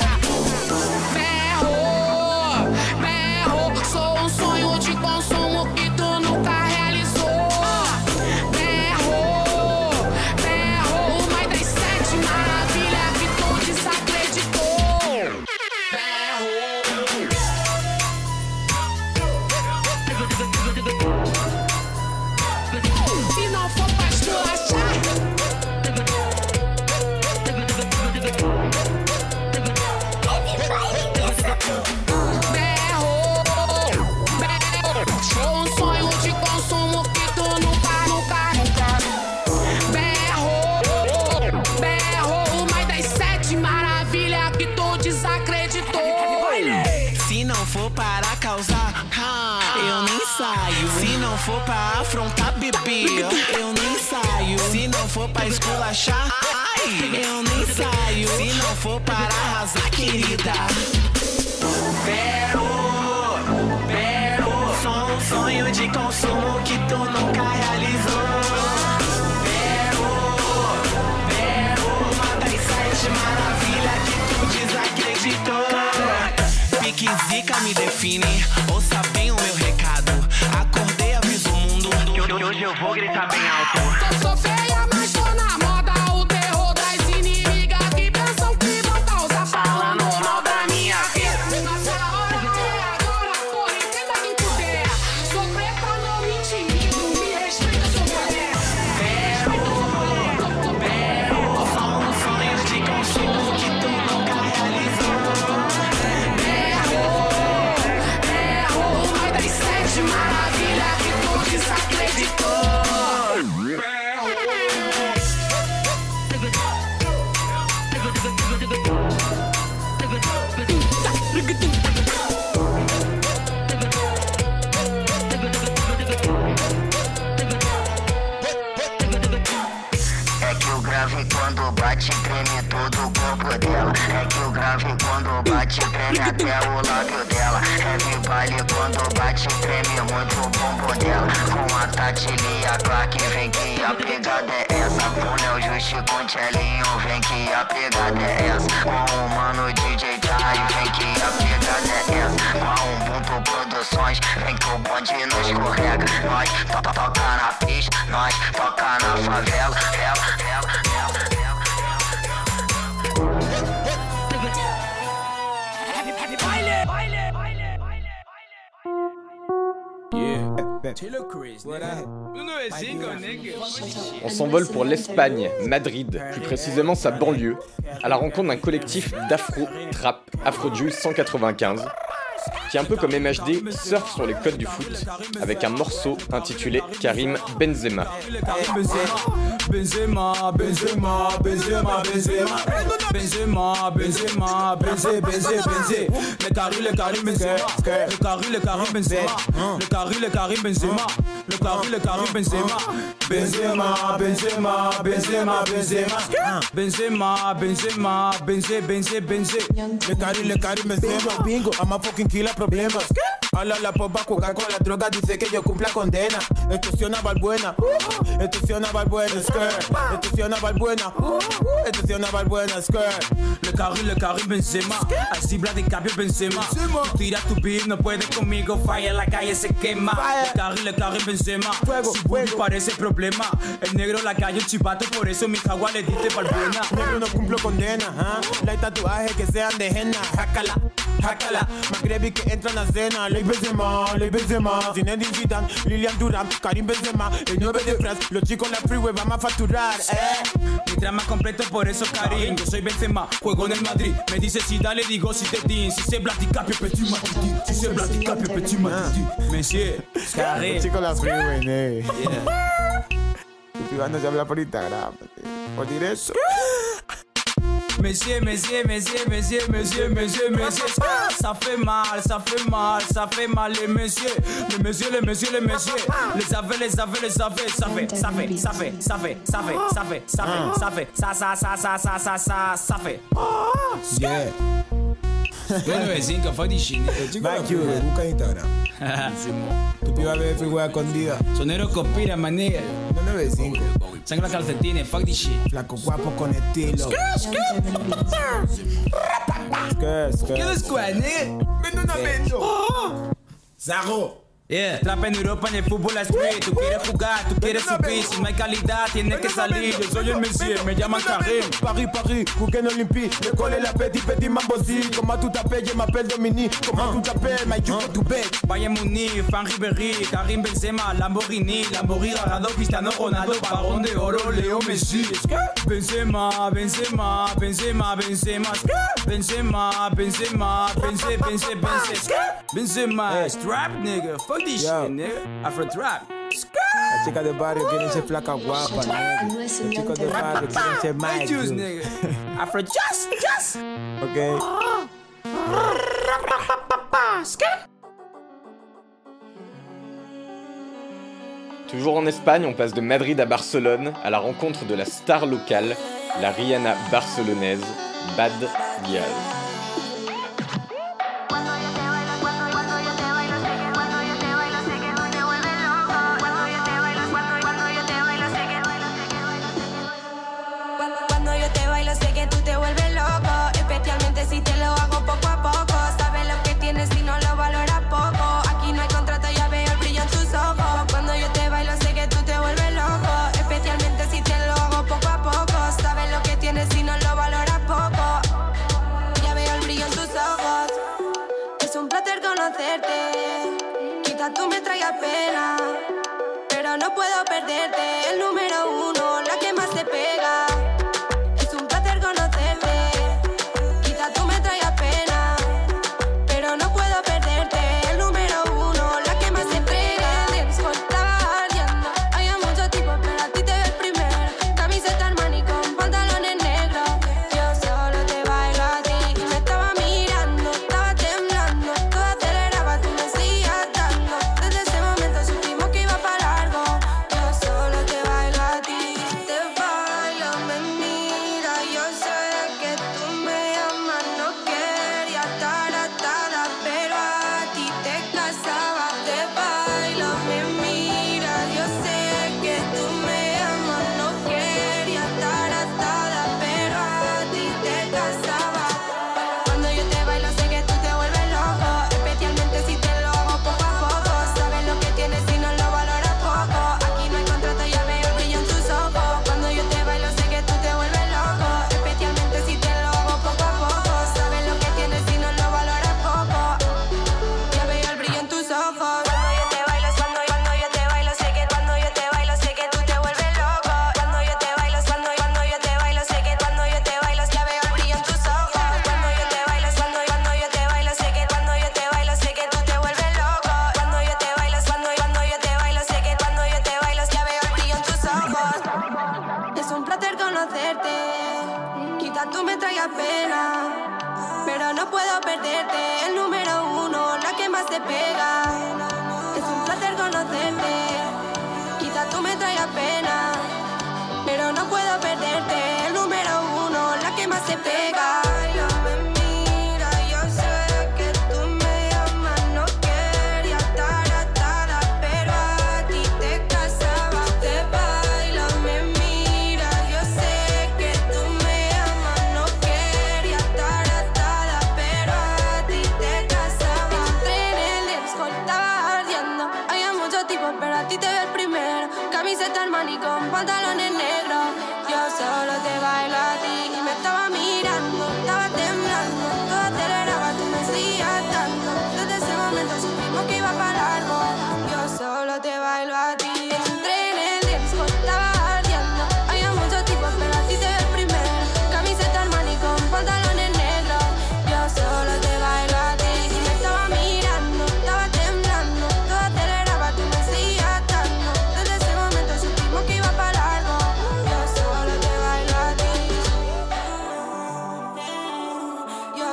O: Berro, berro, sou um sonho de consumo que tu nunca realizou. Berro, berro, uma das sete maravilhas que tu desacreditou. Se não for pra esculachar, berro, berro, sou um sonho de consumo que tu nunca, nunca, nunca. Berro, berro, uma das sete maravilhas que tu desacreditou.
P: Se não for para causar, eu nem saio. Se não for pra afrontar, bebê, eu nem saio. Se não for pra esculachar, eu nem saio. Se não for para arrasar, querida. Pero, pero, sou um sonho de consumo que tu nunca realizou. Pero, pero, uma das sete maravilhas que tu desacreditou. Pique zica me define, ouça bem o meu recado. Acordei, aviso o mundo, que hoje eu vou gritar bem alto.
O: Eu sou feia, mas tô na moda. O terror das inimigas que pensam que vão causar, falando mal da minha vida. Nossa hora é agora, porra, entenda quem puder. Sou preta, não me intimido, me respeita, sou mulher.
P: Pero, pero, só um sonho de consumo que tu nunca realizou.
O: Maravilha que tu desacreditou.
Q: É que o grave quando bate treme todo o corpo dela. É que o grave quando bate treme até o lábio dela. Heavy baile quando bate treme muito o bumbum dela. Com a Tatilia Clark vem que a pegada é essa. Com Léo Justi com Tchelinho vem que a pegada é essa. Com o mano D J Jai vem que a pegada é essa. Com a Ubuntu Produções vem que o bonde não escorrega. Nós to to toca na pista, nós toca na favela. Ela, ela, ela, ela.
A: On s'envole pour l'Espagne, Madrid, plus précisément sa banlieue, à la rencontre d'un collectif d'afro, trap, Afrojuice cent quatre-vingt-quinze, qui un peu comme M H D surfe sur les codes du foot avec un morceau intitulé Karim Benzema.
R: Benzema, Benzema, Benzema, Benzema, Benzema, Benzema, Benzé, Benzé, Benzé. Le Karim, le Karim Benzema, le Karim, le Karim Benzema, le Karim, le Karim Benzema, le Karim, le Karim Benzema, Benzema, Benzema, Benzema, Benzema, Benzema, Benzema, Benzé, Benzé, Benzé. Le Karim, le Karim Benzema, bingo, I'm a fucking aniquila problemas. Habla la popa, juega con la droga, dice que yo cumpla condena. Extorsiona Valbuena, uh, extorsiona Valbuena, skirt. Extorsiona Valbuena, uh, extorsiona Valbuena, skirt. Le carré, le carré Benzema, así bla de cambio Benzema. Tú tiras tu beat, no puedes conmigo, falla la calle se quema. Le carré, le carré Benzema, fuego, si fuego parece problema. El negro la calle un chivato, por eso mi jagua le dice Valbuena. Negro no cumplo condena, ¿eh? La tatuajes que sean de henna, jácala, jácala. Magrebi que entran a cena, le Benzema, le Benzema. Zinedine Zidane, Lilian Durán, Karim Benzema, el nueve de France. Los chicos en la freeway vamos a facturar, eh. Mi trama completo, por eso Karim. Yo soy Benzema, juego en el Madrid. Me dice si dale, digo si te din. Si se blaticapio, petit matiti. Si se blaticapio, petit matiti. Monsieur, Karim.
S: Los chicos en la freeway, eh. Yeah. Tu privando se habla por Instagram, por decir eso.
R: Monsieur, monsieur, monsieur, monsieur, monsieur, monsieur, monsieur. Ça fait mal, ça fait mal, ça fait mal les messieurs. Les messieurs, les messieurs, les messieurs. Les avez, les avez, les avez. Ça fait, ça fait, ça fait, ça fait, ça fait, ça fait, ça fait, ça fait, ça, ça, ça, ça, ça, ça, ça, ça fait. Yeah. Bueno, vecino, fue de China.
S: Back you, busca Instagram. Tu piba bebe figura escondida.
R: Sonero conspira, manera.
S: No nueve cinco.
R: Sangre calcetines, fuck this shit.
S: Flaco guapo con estilo.
R: ¿Qué descuad, nigga?
S: Vendo una vendo. Zago.
R: Yeah, trap en Europa en el fútbol street. Tú quieres jugar, tú quieres subir. Si no hay calidad, tienes que salir. Yo soy el Messi, me llaman Karim.
S: Paris, Paris, Guggen Olympique. Le colle la petit, petit mambosi. Comment tu t'appelles, je m'appelle Dominique. Comment tu t'appelles, my you to bed.
R: Bayern Munich, Fan Ribéry, Karim Benzema, Lamborghini, Lamborghini, Gargado, Cristiano Ronaldo, Balón de Oro, Leo Messi. Benzema, Benzema, Benzema, Benzema, Benzema, Benzema, Benzema, Benzema, Benzema, strap nigga. Fuck this shit, nigga. Afro trap.
S: Las chicas de barrio quieren ser flacas guapas, nigga. Los chicos de barrio quieren ser más
R: juice, nigga. Afro just, just.
S: Ok.
A: Toujours en Espagne, on passe de Madrid à Barcelone à la rencontre de la star locale, la Rihanna barcelonaise, Bad Gyal.
T: Tú me traías pena, pero no puedo perderte. El número uno, la que más te pega. Es un placer conocerte. Quizá tú me traías pena, pero no puedo perderte. El número uno, la que más te pega. Estaba ardiendo, había muchos tipos, pero a ti te veo el primero. Camiseta Armani con pantalones negros. Yo solo te bailo a ti. Y me estaba mirando, estaba temblando. Todo aceleraba, tú me seguías dando. Desde ese momento supimos que iba para largo. Yo solo te bailo a ti. Te bailo, me mira. Yo sé que tú me amas. No quería estar atada, pero a ti te casaba. Te bailo, me mira. Yo sé que tú me amas. No quería estar atada, pero a ti te casaba. Cuando yo te bailo sé que tú te vuelves loco, especialmente si te lo hago poco a poco. Sabes lo que tienes y no lo valoras poco. Aquí no hay contrato, ya veo el brillo en tus ojos. Cuando yo te bailo sé que tú te vuelves loco, especialmente si te lo hago poco a poco. Sabes lo que tienes y no lo valoras poco. Ya veo el brillo en tus ojos. Cuando yo te bailo, cuando, cuando yo te bailo sé que cuando yo te bailo sé que tú te vuelves loco. Cuando yo te bailo, cuando, cuando yo te bailo sé que cuando yo te bailo ya veo el brillo en tus ojos. Cuando yo te bailo, cuando, cuando yo te bailo sé que cuando yo te bailo sé que tú te vuelves loco. Cuando yo te bailo, cuando, cuando yo te bailo sé que cuando yo te bailo ya veo el brillo en tus ojos. Es un placer conocerte. Quizás tú me traigas pena, pero no puedo perderte. El número uno, la que más te pega. Es un placer conocerte. Quizás tú me traigas pena, pero no puedo perderte. El número uno, la que más te pega. Me mira, yo sé que tú me amas.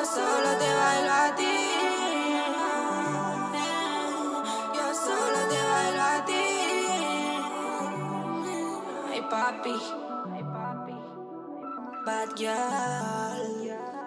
T: Yo solo te bailo a ti. Yo solo te bailo a ti. Hey papi. Hey papi. Bad girl.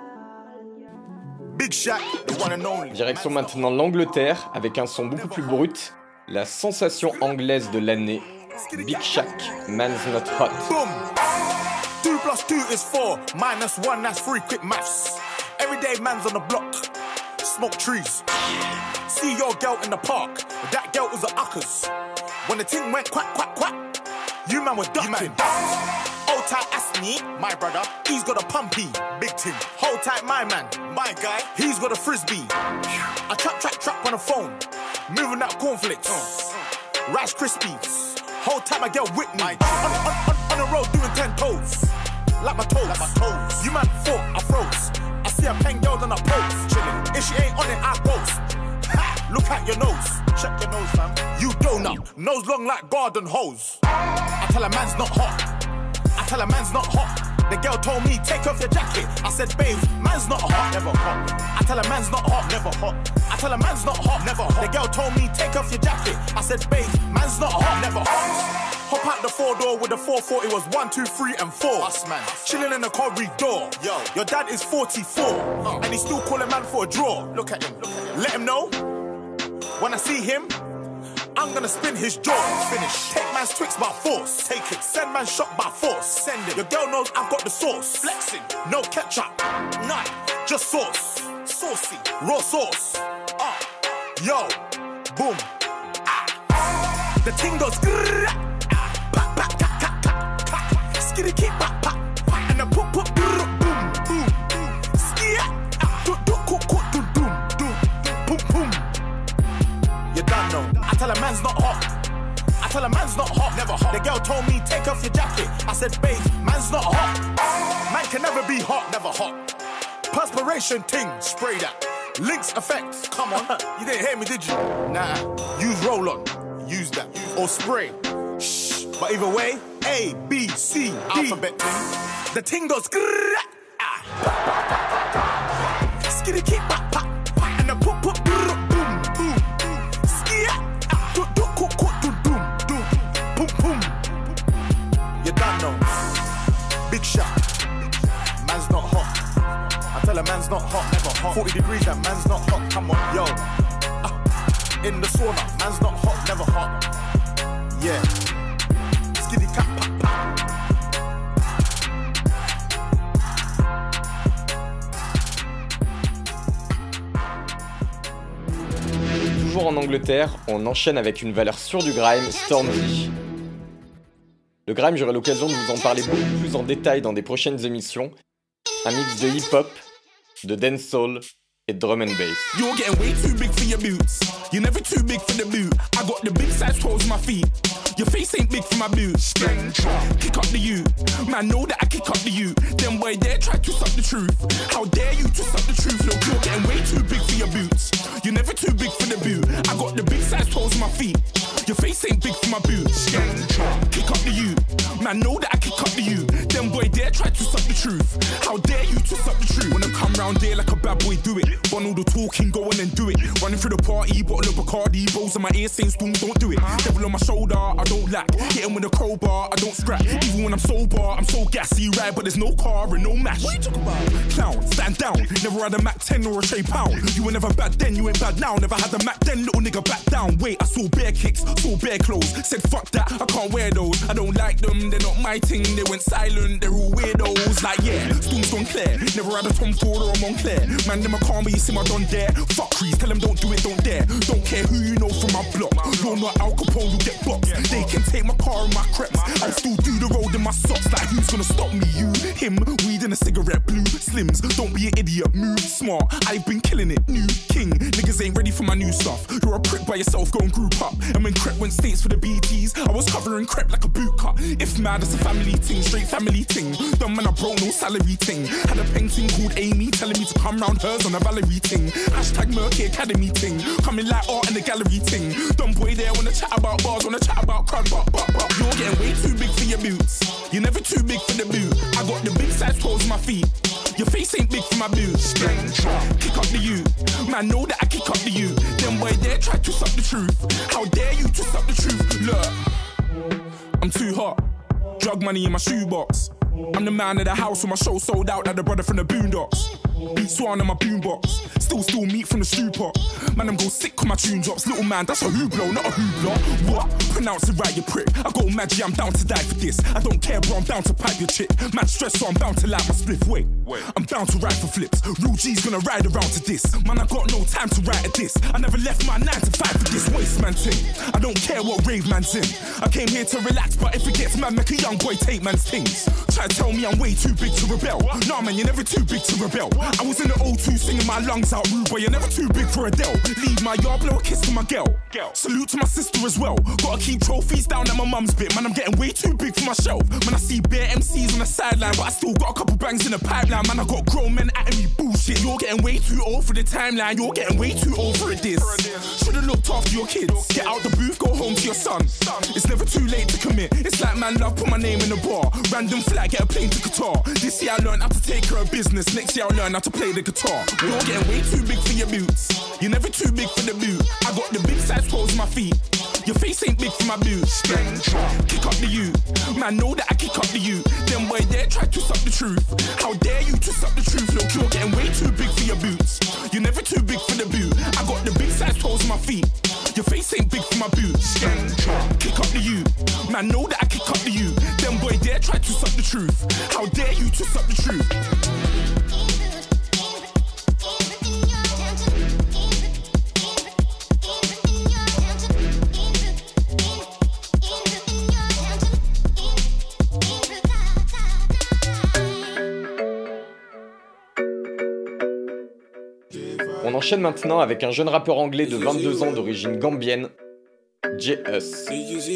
H: Big Shaq, the one and only.
A: Direction maintenant l'Angleterre avec un son beaucoup plus brut, la sensation anglaise de l'année, Big Shaq, Man's Not Hot.
H: Boom. Two plus two is four, minus one, that's three, quick maths. Everyday man's on the block, smoke trees. See your girl in the park, that girl was a uckers. When the ting went quack, quack, quack, you man were ducking. Hold tight, ask me, my brother, he's got a pumpy, big ting. Hold tight, my man, my guy, he's got a frisbee. I trap, trap, trap on the phone, moving that cornflakes, Rice Krispies. Whole time I get with me, on, on, on, on the road doing ten toes, like my toes, like my toes. You man thought I froze, I see a pen girl and I pose, chillin'. If she ain't on it, I ghost. Ha! Look at your nose, check your nose, fam. You donut, nose long like garden hose. I tell a man's not hot, I tell a man's not hot. The girl told me, take off your jacket. I said, babe, man's not hot, never hot. I tell a man's not hot, never hot. I tell a man's not hot, never hot. The girl told me, take off your jacket. I said, babe, man's not hot, never hot. Hop out the four door with the four forty was one, two, three, and four. Us man, chilling in the corridor. Yo, your dad is forty-four, uh. and he still calling man for a draw. Look at him, look at him. Let him know when I see him, I'm gonna spin his jaw. Finish. Take man's Twix by force. Take it. Send man shot by force. Send it. Your girl knows I've got the sauce. Flexing. No ketchup. None. Just sauce. Saucy. Raw sauce. Uh. Yo. Boom. Ah. The ting goes. Grrr, ah. Pa, pa, ka, ka, ka, ka. Skitty keep pa, pa, pa. And the poop, poop, grrr, boom, boom, boom. Skia. Ah. Do, do, cook, cook, do, doom, doom, boom, boom. You done know. I tell a man's not hot. I tell a man's not hot. Never hot. The girl told me, take off your jacket. I said, babe, man's not hot. Man can never be hot. Never hot. Perspiration ting. Spray that. Lynx effect. Come on. You didn't hear me, did you? Nah. Use roll-on. Use that. Or spray. Shh. But either way, A, B, C, D. Alphabet ting. The ting goes grrrr. Ah. Skitty keep pop, pop, pop. And the poop, poop, grrrr. Big shot, man's not hot. I tell a man's not hot, never hot. forty degrees, that man's not hot. Come on, yo. Uh, in the sauna, man's not hot, never hot. Yeah. Skitty cat, pop, pop.
A: Toujours en Angleterre, on enchaîne avec une valeur sûre du grime, Stormzy. Le grime, j'aurai l'occasion de vous en parler beaucoup plus en détail dans des prochaines émissions. Un mix de hip-hop, de dancehall et de drum and bass.
L: You're getting way too big for your boots. You're never too big for the boot. I got the big size toes on my feet. Your face ain't big for my boots. Kick up the you. Man, know that I kick up the you. Them boy dare try to suck the truth. How dare you to suck the truth? Look, you're getting way too big for your boots. You're never too big for the boot. I got the big size toes on my feet. Your face ain't big for my boots. Kick up the you. Man, know that I kick up the you. Them boy dare try to suck the truth. How dare you to suck the truth? Wanna come round there like a bad boy, do it. Run all the talking, go on and do it. Running through the party, bottle of Bacardi. Rolls in my ear saying, Storm, don't do it. Devil on my shoulder, I don't lack. Hit him with a crowbar, I don't scrap. Even when I'm sober, I'm so gassy, right? But there's no car and no mash. What you talk about? Clown, stand down. Never had a Mac ten or a Shay Pound. You were never bad then, you ain't bad now. Never had a Mac then, little nigga back down. Wait, I saw bare kicks, saw bare clothes. Said fuck that, I can't wear those. I don't like them, they're not my thing. They went silent, they're all weirdos. Like yeah, Storm's gone clear. Never had a Tom Ford or a Montclair. Man, them a calm, but you see my don there. Fuck crease, tell them don't do it, don't dare. Don't care who you know from my block. You're not Al Capone, you get boxed. They can take my car and my crepes. I'll still do the road in my socks. Like who's gonna stop me? You, him, weed and a cigarette, blue slims. Don't be an idiot, move smart. I've been killing it, new king. Niggas ain't ready for my new stuff. You're a prick by yourself, go and group up. And when Crep went states for the B Ts, I was covering Crep like a boot cut. If mad, it's a family ting, straight family ting. Dumb man, I broke no salary ting. Had a painting called Amy telling me to come round hers on a Valerie ting. Hashtag Murky Academy ting. Coming like art in the gallery ting. Dumb boy there wanna chat about bars, wanna chat about crud, but, but, but. You're getting way too big for your boots. You're never too big for the boot. I got the big size toes on my feet. Your face ain't big for my boots. Kick up the you. Man, know that I kick up the you. Them boy there try to twist up the truth. How dare you twist up the truth? Look, I'm too hot. Drug money in my shoebox. I'm the man of the house when my show sold out like the brother from the Boondocks. Beat Swan in my boombox. Still steal meat from the stew pot. Man, I'm go sick when my tune drops. Little man, that's a hooplo, not a hoopla. What? Pronounce it right, you prick. I go magic, I'm down to die for this. I don't care, bro, I'm down to pipe your chick. Man, stress, so I'm bound to light my spliff. Wait, Wait. I'm down to ride for flips. Real G's gonna ride around to this. Man, I got no time to write at this. I never left my nine to five for this waste man thing. I don't care what rave man's in. I came here to relax, but if it gets mad, make a young boy take man's things. Try to tell me I'm way too big to rebel. Nah, man, you're never too big to rebel. I was in the O two singing my lungs out, rude boy, you're never too big for Adele. Leave my yard, blow a kiss to my girl. Salute to my sister as well. Gotta keep trophies down at my mum's bit. Man, I'm getting way too big for my shelf. Man, I see bare M Cs on the sideline, but I still got a couple bangs in the pipeline. Man, I got grown men at me bullshit. You're getting way too old for the timeline. You're getting way too old for a diss. Should've looked after your kids. Get out the booth, go home to your son. It's never too late to commit. It's like man love, put my name in the bar. Random flag, get a plane to Qatar. This year I learned how to take care of business. Next year I'll learn how to play the guitar. You're getting way too big for your boots. You're never too big for the boot. I got the big size toes on my feet. Your face ain't big for my boots. Kick up the you. Man, know that I kick up the you. Them boy there try to twist up the truth. How dare you twist up the truth? Look, you're getting way too big for your boots. You're never too big for the boot. I got the big size toes on my feet. Your face ain't big for my boots. Kick up the you. Man, know that I kick up the you. Them boy there try to twist up the truth. How dare you twist up the truth?
A: On enchaîne maintenant avec un jeune rappeur anglais de vingt-deux ans d'origine gambienne, J-Us.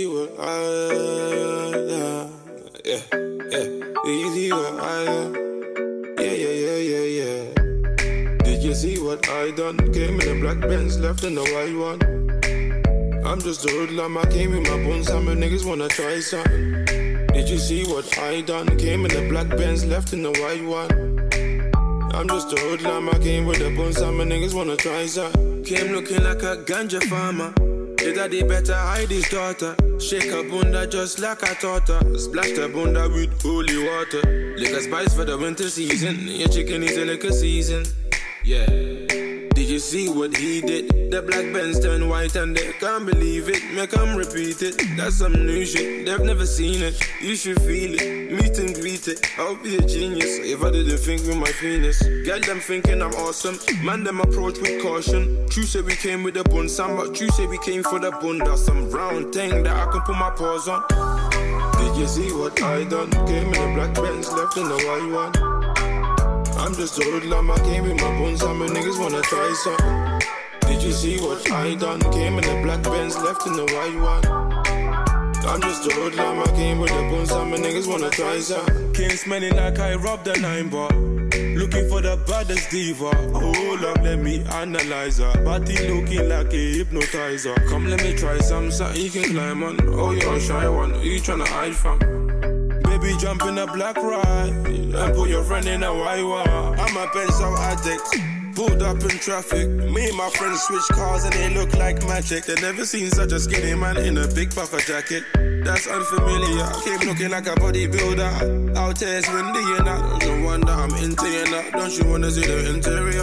D: Did you see what I done? Came in the black Benz, left in the white one. I'm just a hoodlum, I came with my bones, some niggas wanna try something. Did you see what I done? Came in the black Benz, left in the white one. I'm just a hoodlum, I came with the bones, some niggas wanna try something. Came looking like a ganja farmer. His daddy better hide his daughter. Shake her bunda just like I taught her. Splash the bunda with holy water. Liquor spice for the winter season. Your chicken is a liquor season. Yeah. Did you see what he did? The black Benz turned white and they can't believe it. Make them repeat it. That's some new shit. They've never seen it. You should feel it. Meet and greet it. I'll be a genius if I didn't think with my penis. Get them thinking I'm awesome. Man, them approach with caution. True say we came with the bun. Some but true say we came for the bunda. Some round thing that I can put my paws on. Did you see what I done? Came in the black Benz, left in the white one. I'm just a hoodlum, I came with my bones, some niggas wanna try something. Did you see what I done? Came in the black Benz, left in the white one. I'm just a hoodlum, I came with the bones, some niggas wanna try something. Came smelling like I robbed a nine bar. Looking for the baddest diva. Hold up, let me analyze her. Body looking like a hypnotizer. Come, let me try some, something you can climb on. Oh, you're a shy one, who you tryna hide from? Baby, jump in a black ride and put your friend in a white one. I'm a pencil addict, pulled up in traffic. Me and my friends switch cars and they look like magic. They never seen such a skinny man in a big puffer jacket. That's unfamiliar. Came looking like a bodybuilder. Out here it's windy and I don't wonder I'm into you now. Don't you wanna see the interior?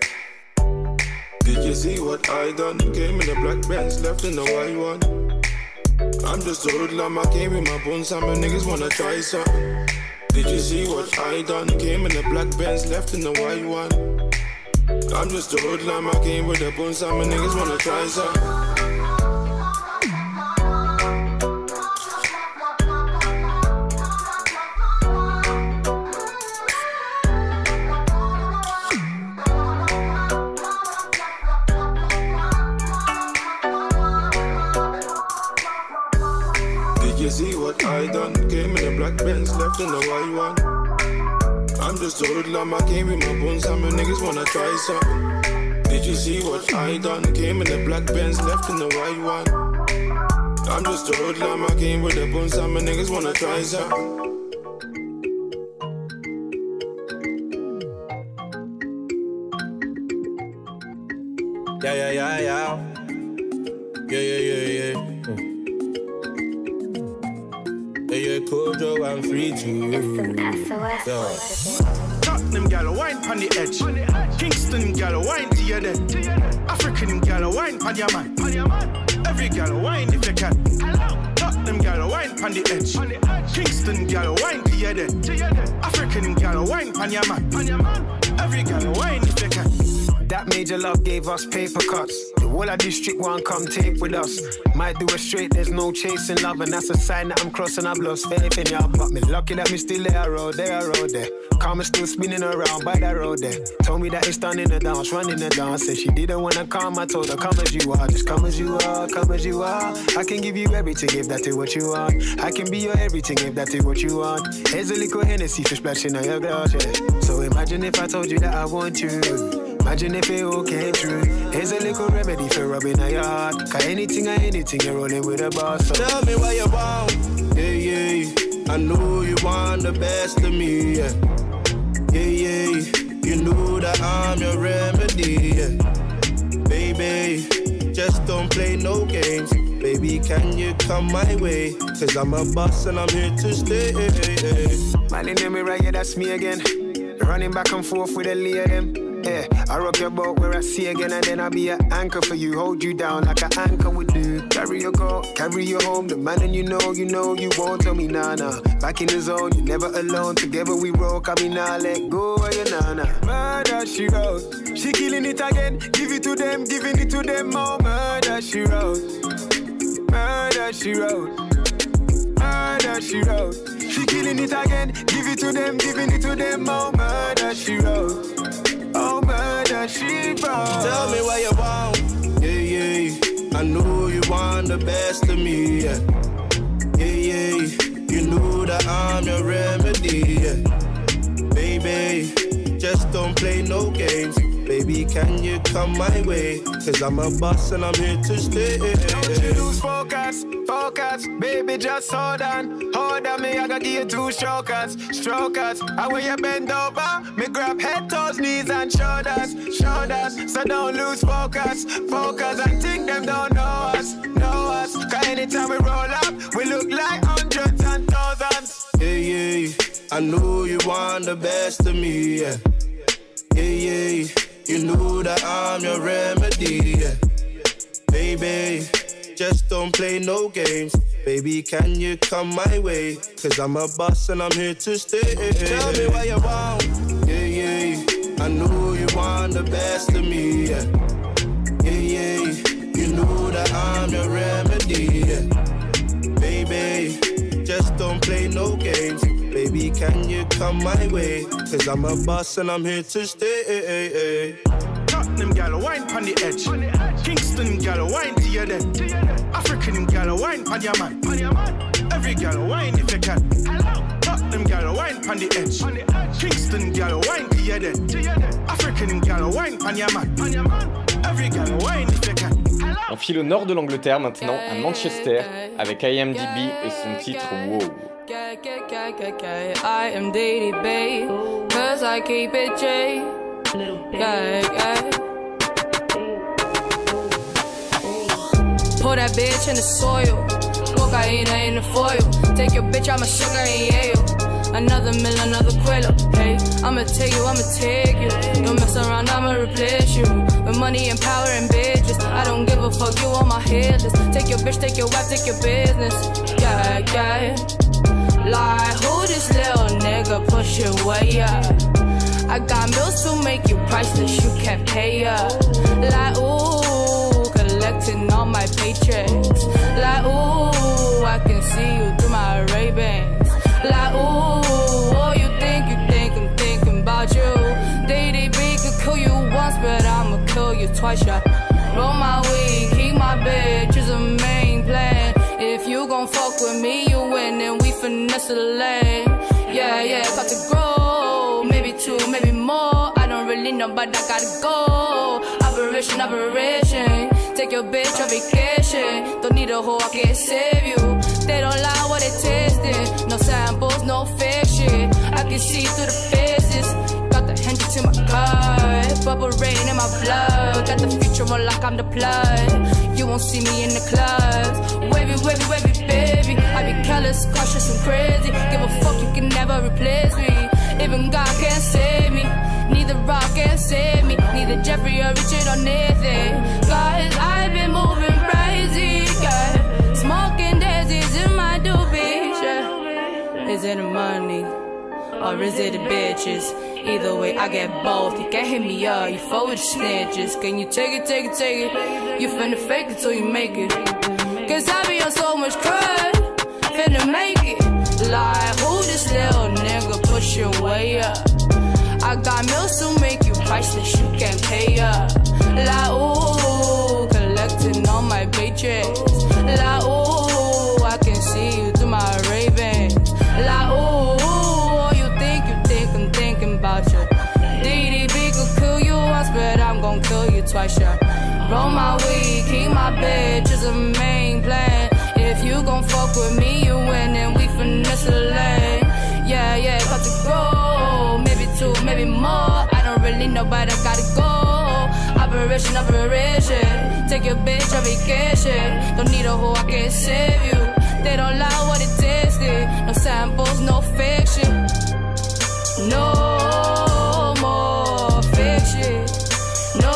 D: Did you see what I done? Came in the black Benz, left in the white one. I'm just a hoodlum, I came with my bones, some niggas wanna try something. Did you see what I done? Came in the black Benz, left in the white one. I'm just a hoodlum, I came with the bones, some niggas wanna try something. See what I done? Came in the black Benz, left in the white one. I'm just a hoodlum, I came with my bones, some niggas wanna try something. Did you see what I done? Came in the black Benz, left in the white one. I'm just a hoodlum, I came with the bones, some niggas wanna try something.
H: Yeah, yeah, yeah, yeah. Yeah, yeah, yeah, yeah. Yeah, yeah, Kojo, I'm free too. Yeah.
U: Tottenham gal wine pon the edge. Kingston gal wine to your dead. African gal wine pon your man. Every gal wine if you can. Tottenham gal wine pon the edge. Kingston gal wine to your dead. African gal wine pon your man. Every gal wine if you can.
V: That major love gave us paper cuts. The whole of district one come tape with us. Might do it straight, there's no chasing love, and that's a sign that I'm crossing. I've lost faith in y'all, but me lucky that me still there, road there, road there. Karma still spinning around by that road there. Told me that it's done in the dance, running the dance. Said she didn't wanna come, I told her come as you are, just come as you are, come as you are. I can give you everything if that is what you want. I can be your everything if that is what you want. Here's a little Hennessy for splashing on your glass, yeah. So imagine if I told you that I want you. Imagine if it all came true. Here's a little remedy for rubbing on your heart. Cause anything or anything, you're rolling with a boss. So.
H: Tell me what you want. Yeah, yeah. I know you want the best of me. Yeah, yeah, yeah. You know that I'm your remedy. Yeah. Baby, just don't play no games. Baby, can you come my way? Cause I'm a boss and I'm here to stay.
V: Man in the mirror, yeah, that's me again. Running back and forth with a lay of them. Yeah, I rock your boat where I see again, and then I'll be an anchor for you. Hold you down like an anchor would do. Carry your girl, carry you home. The man and you know, you know, you won't tell me nah nah. Back in the zone, you're never alone. Together we roll, cause me nah let go of your nana. Murder she wrote, she killing it again. Give it to them, giving it to them more. Murder she wrote, murder she wrote, murder she wrote. She killing it again, give it to them, giving it to them more. Murder she wrote. Oh, murder, she brought.
H: Tell me what you want. Yeah, yeah. I know you want the best of me. Yeah, yeah, yeah. You know that I'm your remedy. Yeah. Baby, just don't play no games. Baby, can you come my way? Cause I'm a boss and I'm here to stay.
V: Don't you lose focus, focus. Baby, just hold on. Hold on me, I gotta give you two strokers, strokers. I when you bend over, me grab head, toes, knees and shoulders, shoulders. So don't lose focus, focus. I think them don't know us, know us. Cause anytime we roll up, we look like hundreds and thousands.
H: Yeah, yeah. I know you want the best of me, yeah. Yeah, yeah. You know that I'm your remedy, yeah. Baby, just don't play no games. Baby, can you come my way? Cause I'm a boss and I'm here to stay. Tell me what you want. Yeah, yeah. I know you want the best of me, yeah. Yeah, yeah. You know that I'm your remedy, yeah. Baby, just don't play no games. Baby, can you come my way? Cause I'm a boss and I'm here to stay.
U: Tottenham gal wine pon the edge. Kingston gal wine to your dead. African gal wine pon your man. Every gal wine if you can. Tottenham gal wine pon the edge. Kingston gal wine to your dead. African gal wine pon your man. Every gal wine if you can.
A: On file au nord de l'Angleterre maintenant, à Manchester, avec I M D B et son titre Wow.
W: I am daily babe, cause I keep it J. Yeah, yeah. Pour that bitch in the soil, cocaine in the foil. Take your bitch, I'm a sugar in Yale. Another mill, another quilla. Hey, I'ma take you, I'ma take you. Don't mess around, I'ma replace you. With money and power and bitches, I don't give a fuck, you on my hit list. Take your bitch, take your wife, take your business. Yeah, yeah. Like, who this little nigga push your way up? I got bills to make you priceless, you can't pay up. Like, ooh, collecting all my paychecks. Like, ooh, I can see you through my Ray-Bans. Like, ooh, oh, you think, you think I'm thinking about you. D D B could kill you once, but I'ma kill you twice, yeah. Roll my weed, keep my bitch is a main plan. If you gon' fuck with me, you win, and we finesse the lane. Yeah, yeah, got to grow, maybe two, maybe more. I don't really know, but I gotta go. Operation, operation. Take your bitch on vacation. Don't need a hoe, I can't save you. They don't lie what they tasting. No samples, no fake shit. I can see through the faces. Got the Hendrix in my car, bubble rain in my blood. Got the future sexual like I'm the plug. You won't see me in the clubs. Wavy, wavy, wavy, baby. I be careless, cautious, and crazy. Give a fuck, you can never replace me. Even God can't save me. Neither rock can save me. Neither Jeffrey or Richard or Nathan. Cause I've been moving crazy, girl. Smoking daisies in my doobie, yeah. Is it the money? Or is it the bitches? Either way, I get both. You can't hit me up, you fuck with the snitches. Can you take it, take it, take it? You finna fake it till you make it. Cause I be on so much crud, finna make it. Like, who this little nigga pushing way up? I got meals to make you priceless, you can't pay up. Like, ooh, collecting all my paychecks. Like, ooh, I can see you through my Ravens. Like, ooh, you think, you think I'm thinking about you. D D B could kill you once, but I'm gon' kill you twice, yeah. Roll my weed, keep my bitch is a main plan. If you gon' fuck with me, you win and we finesse the lane. Yeah, yeah, got to go. Maybe two, maybe more. I don't really know, but I gotta go. Operation, operation. Take your bitch on vacation. Don't need a hoe, I can save you. They don't lie what it tasted. No samples, no fiction. No more fiction. No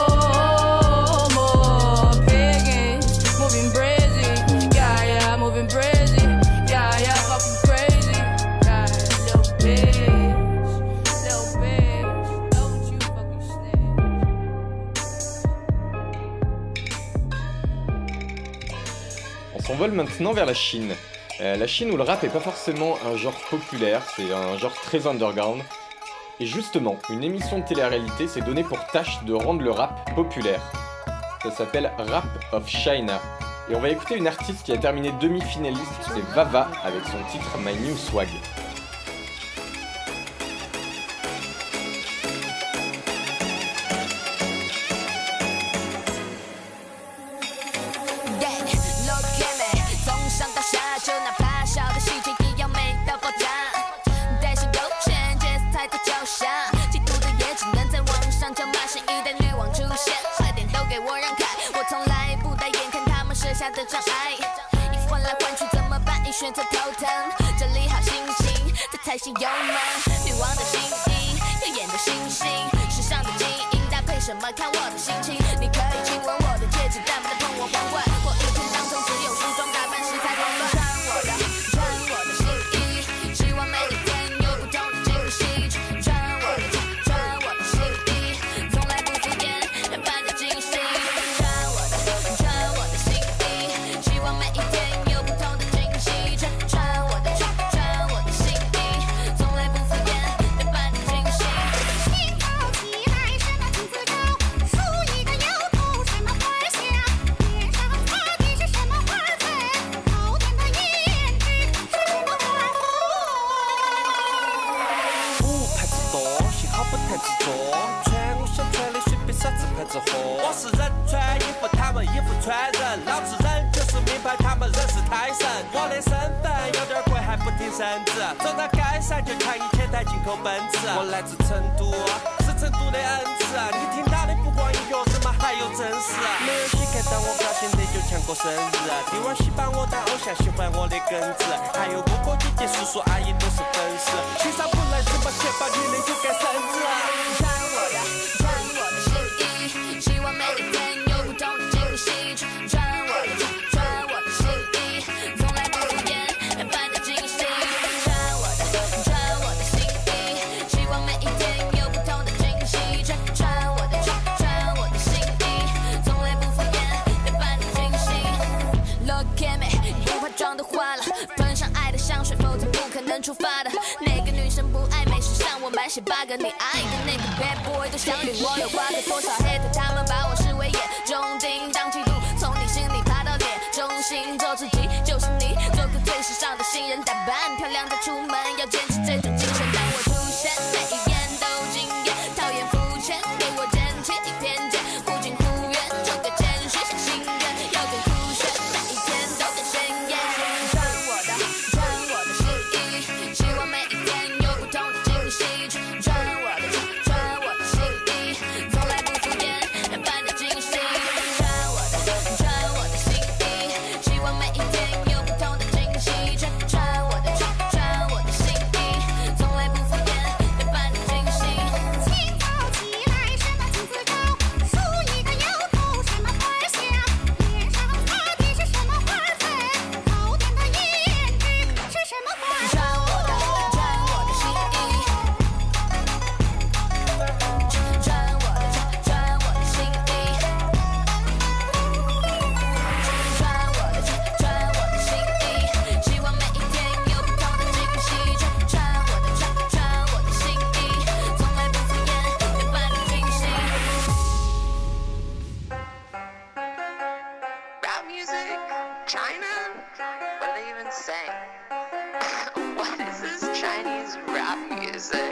W: more piggins. Moving brazy. Yeah, yeah, moving brazy. Yeah, yeah, fucking crazy. Yeah, little bitch. Little bitch. Don't you fucking
A: On s'envole maintenant vers la Chine. Euh, la Chine où le rap est pas forcément un genre populaire, c'est un genre très underground. Et justement, une émission de télé-réalité s'est donnée pour tâche de rendre le rap populaire. Ça s'appelle Rap of China. Et on va écouter une artiste qui a terminé demi-finaliste, c'est Vava, avec son titre My New Swag.
C: 的障碍，衣服换来换去怎么办？一选择头疼，这里好心情，这才是幽默。女王的心意，耀眼的星星，时尚的基因搭配什么？看我的心情。你可以亲吻我的戒指，但不能碰我皇冠。我一天当中只有梳妆打扮时才慌乱。穿我的，穿我的新衣，希望每一天有不同的惊喜。穿我的，穿我的新衣，从来不敷衍，让伴有惊喜。穿我的，穿我的新衣。希望每一天有不同的惊喜，穿穿我的穿穿我的新衣，从来不敷衍，能伴你惊喜。心高气来，什么金字高，梳一个油头，什么花香，脸上擦的是什么花粉，好看的颜值，什么花红。
F: 五牌子多，幸好不太执着，穿我想穿的随便啥子牌子火。我是人穿衣服，他们衣服穿人，老子人就是名牌，他们人是泰神。我的身份有点贵，还不挺身子，走到街上就看一千台进口奔驰。我来自成都，是成都的恩赐，你听到的不光音乐日嘛，还有真实。没有谁看到我表现的就抢过生日，帝王喜把我当偶像，喜欢我的根子，还有哥哥姐姐叔叔阿姨都是粉丝。欣赏不来什么写法，你的就该生日。
C: 穿我的，穿我的新衣，希望每一天有不同的惊喜。穿我的，穿我的新衣，从来不敷衍，让伴有惊喜。穿我的，穿我的新衣，希望每一天有不同的惊喜。穿穿我的，穿我的新衣，从来不敷衍，让伴有惊喜。Look at me， 不怕妆都花了，喷上爱的香水，否则不可能出发的。哪个女生不爱美？时尚我满写 bug， 你爱的那个 bad boy 都想与我有瓜葛。多少 hater 他们把我视为眼中钉，当嫉妒从你心里爬到脸中心，做自己就是你，做个最时尚的新人，打扮漂亮的出门，要坚持这种精神。当我出现，每一眼都惊艳，讨厌肤浅，给我捡起偏见，忽近忽远，做个谦虚像心愿，要更酷炫，每一天都更鲜艳。穿我的，穿我的新衣，希望每一天有不同的惊喜。穿我的，穿我的新衣，从来不敷衍，
E: China? What are they even saying? What is this Chinese rap music?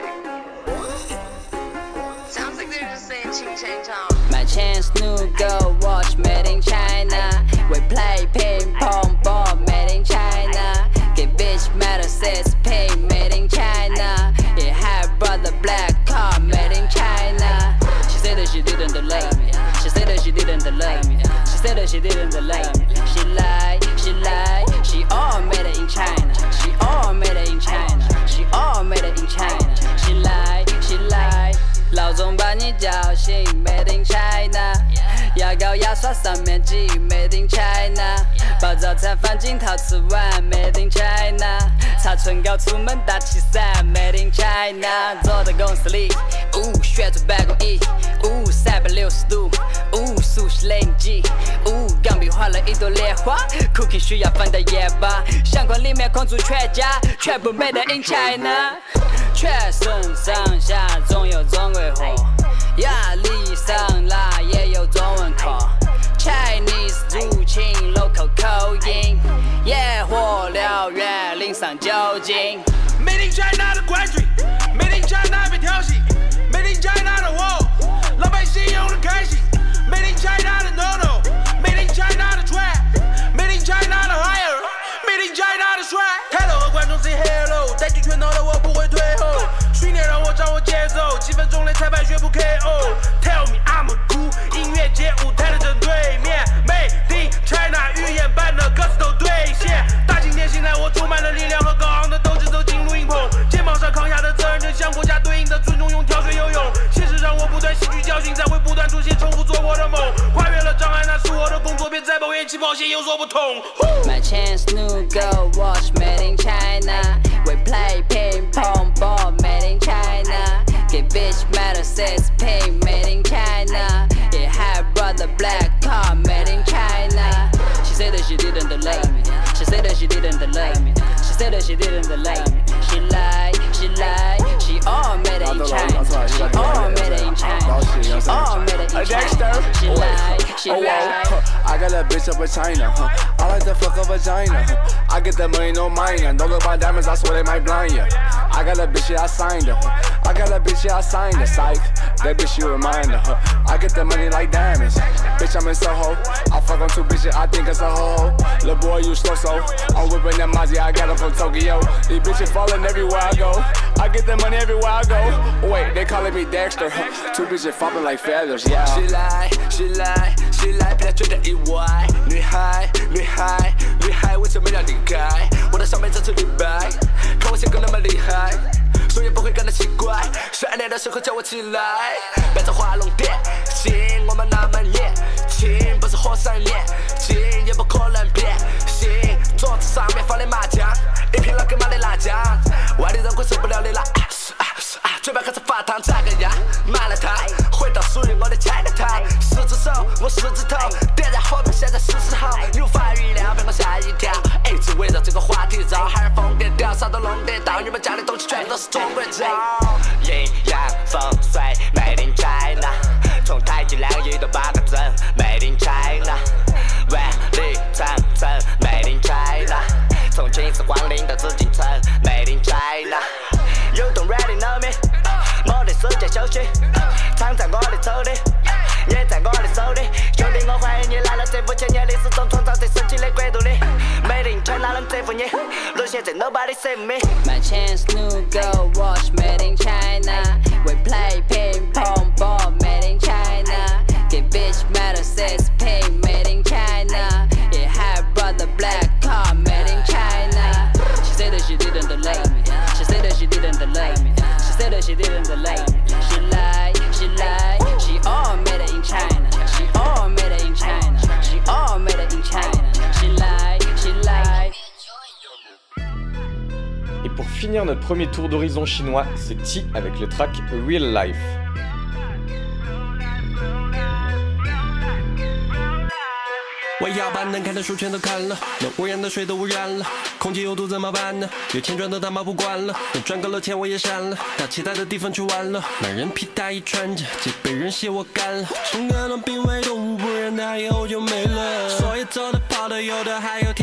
E: Sounds like they're just saying ching chang chong.
G: My chance new go watch made in China. We play ping pong ball made in China. Get bitch metal says pay made in China. Yeah, have brother black car made in China. She said that she didn't love me. She said that she didn't love me. She said that she didn't love me. She lied, she lied. She all made it in China. She all made it in China. She all made it in China. She lied, she lied. 老总把你叫醒 ，Made in China。牙膏牙刷上面挤 ，Made in China。把早餐放进陶瓷碗 ，Made in China。擦唇膏出门打气伞 ，Made in China。坐在公司里，呜，旋转办公椅，呜，三百六十度，呜，速食雷击，呜，钢笔画了一朵莲花 ，Cookie 需要放到夜吧，相框里面框住全家，全部 Made in China。全身上下总有中国货，压力上来也有中文课。Chinese 入侵 local 口音，野火燎原淋上酒精。
U: Made in China 的关税 ，Made in China 被调戏 ，Made in China 的货，老百姓用的开心 ，Made in China 的 no no，Made in China 的 trap，Made in China 的 higher，Made in China 的帅。Hello 和观众 say hello， 带进圈套的我不会退后，训练让我掌握节奏，几分钟内裁判宣布 K O。Tell me I'm a cool， 音乐节舞台的正对面 ，Made in China 预言版的歌词都兑现。大晴天醒来，我充满了力量和高昂的斗志，走进录音棚，肩膀上扛下的责任，正向国家对应的尊重，用跳水游泳。现实让我不断吸取教训，才会不断出现，重复做我的梦，跨越了障碍，那是我的工作，别再抱怨起跑线有所不同。
G: My chance new go watch made in China. We play ping pong ball made in China. Get bitch metal says pink made in China. Yeah, have brother black car made in China. She said that she didn't love me. She said that she didn't love me. She said that she didn't love me. She lied, she lied. She all made it in China. She all made it in China. She all made it in China. She lied, she lied.
K: I got a bitch up in China. Huh? I like the fuck a vagina. Huh? I get that money, no minor. Don't look my diamonds, I swear they might blind ya. I got a bitch, yeah, I signed her. Huh? I got a bitch, yeah, I signed her. Psych, that bitch, you remind her. Huh? I get that money like diamonds. Bitch, I'm in Soho. I fuck on two bitches, I think it's a ho-ho. Lil' boy, you slow so. I'm whipping that Mazzy, I got her from Tokyo. These bitches falling everywhere I go. I get that money everywhere I go. Wait, they calling me Dexter. Huh? Two bitches flopping like feathers, yeah.
F: She lie, she lie, she lie， 别觉得意外。女孩，女孩，女孩，为什么要离开？我的上辈子是李白，看我性格那么厉害，所以不会感到奇怪。十二点的时候叫我起来，别再画龙点睛，我们那么年轻，不是火山炼金，也不可能变心。桌子上面放的麻将，一瓶老干妈的辣酱，外地人会受不了的辣。嘴巴开始发烫，咋个样？买了它，回到属于我的 Chinatown。十只手，我十指头，点燃火苗，现在是时候。你无法预料，被我吓一跳。一直围绕这个话题绕，海尔疯癫掉，啥都弄得到。你们家的东西全都是中国造。阴阳风水 ，Made in China。从太极两仪到八个阵 ，Made in China。万里长城 ，Made in China。从秦始皇陵到紫禁城 ，Made in China。You don't really know me， 我的世界休息，藏在我的手里，也在我的手里。兄弟，我欢迎你来到这五千年历史中创造最神奇的国度里。Made in China 能征服你，如现在 nobody save me。
G: My chance new go watch made in China. We play ping pong ball made in China. Get bitch metal says pink made in China. Yeah, have brother black car made in China. She said that she didn't love me. She said that she didn't love me. She said that she didn't love me. She lied, she lied. She all made it in China. She all made it in China. She all made it in China. She lied, she lied.
A: Et pour finir notre premier tour d'horizon chinois, c'est T avec le track Real Life.
F: 我要把能看的书全都看了，能污染的水都污染了，空气有毒怎么办呢？有钱赚的他妈不管了，能赚够了钱我也删了，到其他的地方去玩了。满人皮大衣穿着，就被人写我干了。生个能濒危动物，不然它以后就没了。所以走的跑的有的还有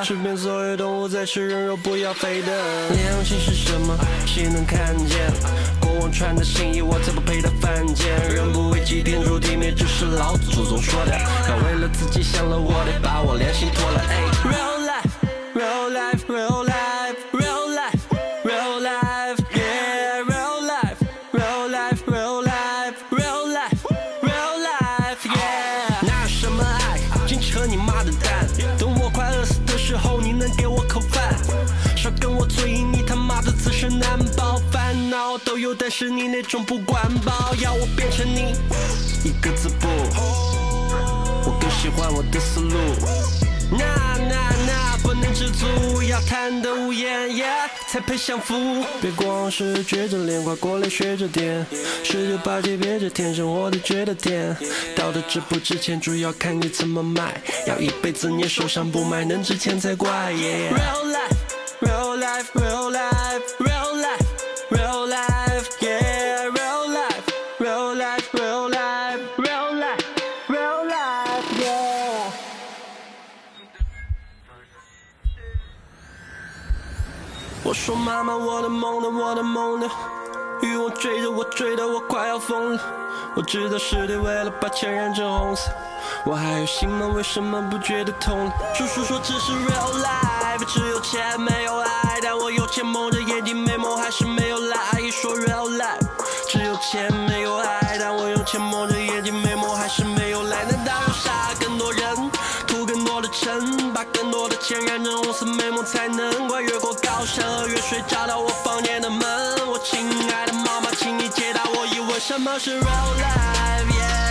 F: 吃遍所有动物，再吃人肉，不要飞的。良心是什么？谁能看见？国王穿的新衣，我才不配他犯贱。人不为己，天诛地灭，这是老子祖宗说的。他为了自己想了，我得把我良心脱了。哎 ，real life，real life，real life，real life，real life，yeah，real life，real life，real life，real life，real life，yeah。哪有什么爱，净扯你妈的蛋。等我快饿死的时候，你能给我口饭？少跟我嘴，你他妈的自身难保，烦恼都有，但是你那种不管饱，要我变成你一个字不。我更喜欢我的思路，那那那不能知足，要谈得无言 ，yeah 才配享福。别光是撅着脸，快过来学着点，十九八九别着天，生活的觉得甜。道德值不值钱，主要看你怎么卖，要一辈子你手上不卖，能值钱才怪。Yeah. Real life，real life，real life，real life，real life，yeah，real life，real life，real life，real life，real life，yeah。我说妈妈，我的梦呢？我的梦呢？欲望追着我，追得我快要疯了。我知道是对，为了把钱染成红色。我还有心吗？为什么不觉得痛了？叔叔说这是 real life， 只有钱没有爱，但我有钱蒙着眼睛没梦，还是没有来。一说 real life， 只有钱没有爱，但我用钱蒙着眼睛没梦，还是没有来。难道要杀更多人，图更多的尘，把更多的钱染成红色美梦，才能怪越过高山和越水找到我房间的门。我亲爱的妈妈，请你解答我疑问，什么是 real life？Yeah。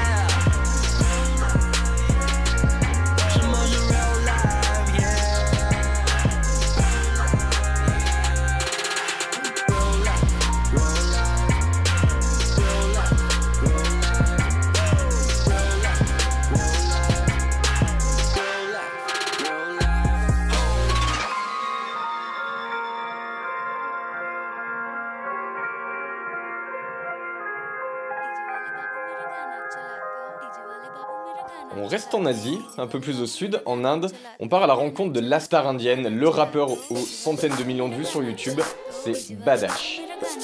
A: On reste en Asie, un peu plus au sud, en Inde. On part à la rencontre de la star indienne, le rappeur aux centaines de millions de vues sur YouTube, c'est Badash.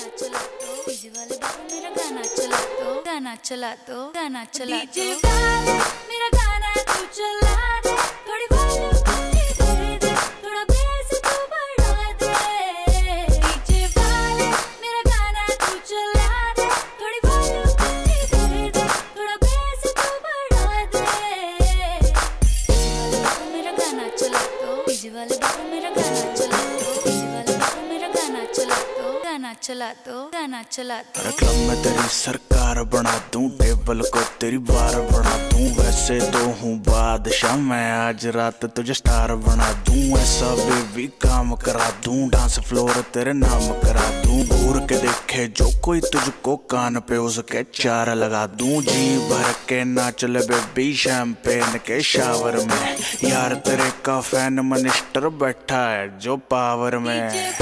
B: Club में तेरी सरकार बना दूं, टेबल को तेरी बार बना दूं। वैसे तो हूँ बादशाह मैं, आज रात तुझे स्टार बना दूं। ऐसा बेबी काम करा दूं, डांस फ्लोर तेरे नाम करा दूं। घूर के देखे जो कोई तुझको, कान पे उसके चार लगा दूं। जी भर के नाच ले बेबी शैंपेन के शावर में, यार तेरे का फैन मिनिस्टर बैठा है जो पावर में।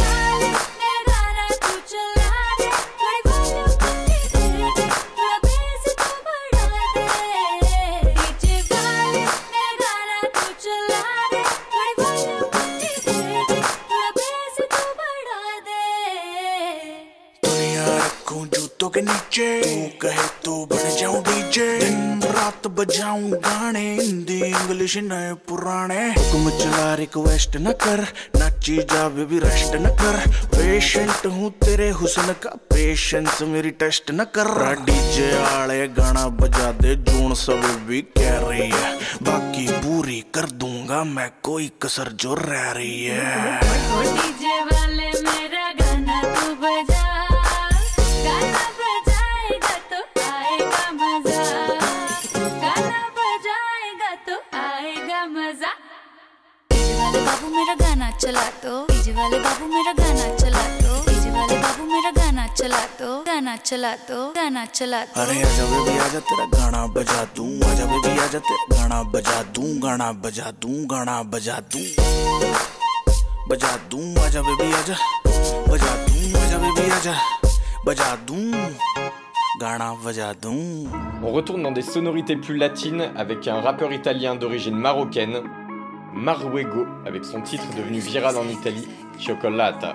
B: जूतों के नीचे तू कहे तो बन जाऊं डीजे, दिन रात बजाऊं गाने, हिंदी इंग्लिश नए पुराने। हुक्म चला रिक्वेस्ट न कर, नाची जा बेबी रेस्ट न कर। पेशेंट हूँ तेरे हुस्न का, पेशेंस मेरी टेस्ट न कर। डीजे आले गाना बजा दे, जून सब भी कह रही है, बाकी पूरी कर दूंगा मैं कोई कसर जो रह रही है।
C: डीजे वाले मेरा गाना तू बजा, गाना बजाएगा तो आएगा मजा, गाना बजाएगा तो आएगा मजा। डीजे वाले बाबू मेरा गाना चला दो, डीजे वाले बाबू मेरा गाना चला दो, डीजे वाले बाबू मेरा गाना चला दो, गाना चला दो, गाना चला दो।
B: अरे आजा बेबी आजा तेरा गाना बजा दूं, आजा बेबी आजा तेरा गाना बजा दूं, गाना बजा दूं, गाना बजा दूं, बजा दूं। आजा बेबी आजा, बजा दूं, आजा बेबी आजा, बजा दूं, गाना बजा दूं।
A: On retourne dans des sonorités plus latines avec un rappeur italien d'origine marocaine, Marwego avec son titre devenu viral en Italie, Cioccolata.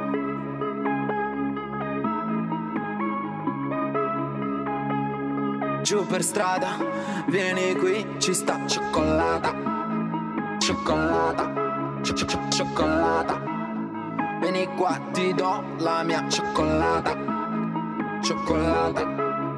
I: Giù per strada, vieni qui, ci sta cioccolata, cioccolata, cioccolata. Vieni qua, ti do la mia cioccolata, cioccolata.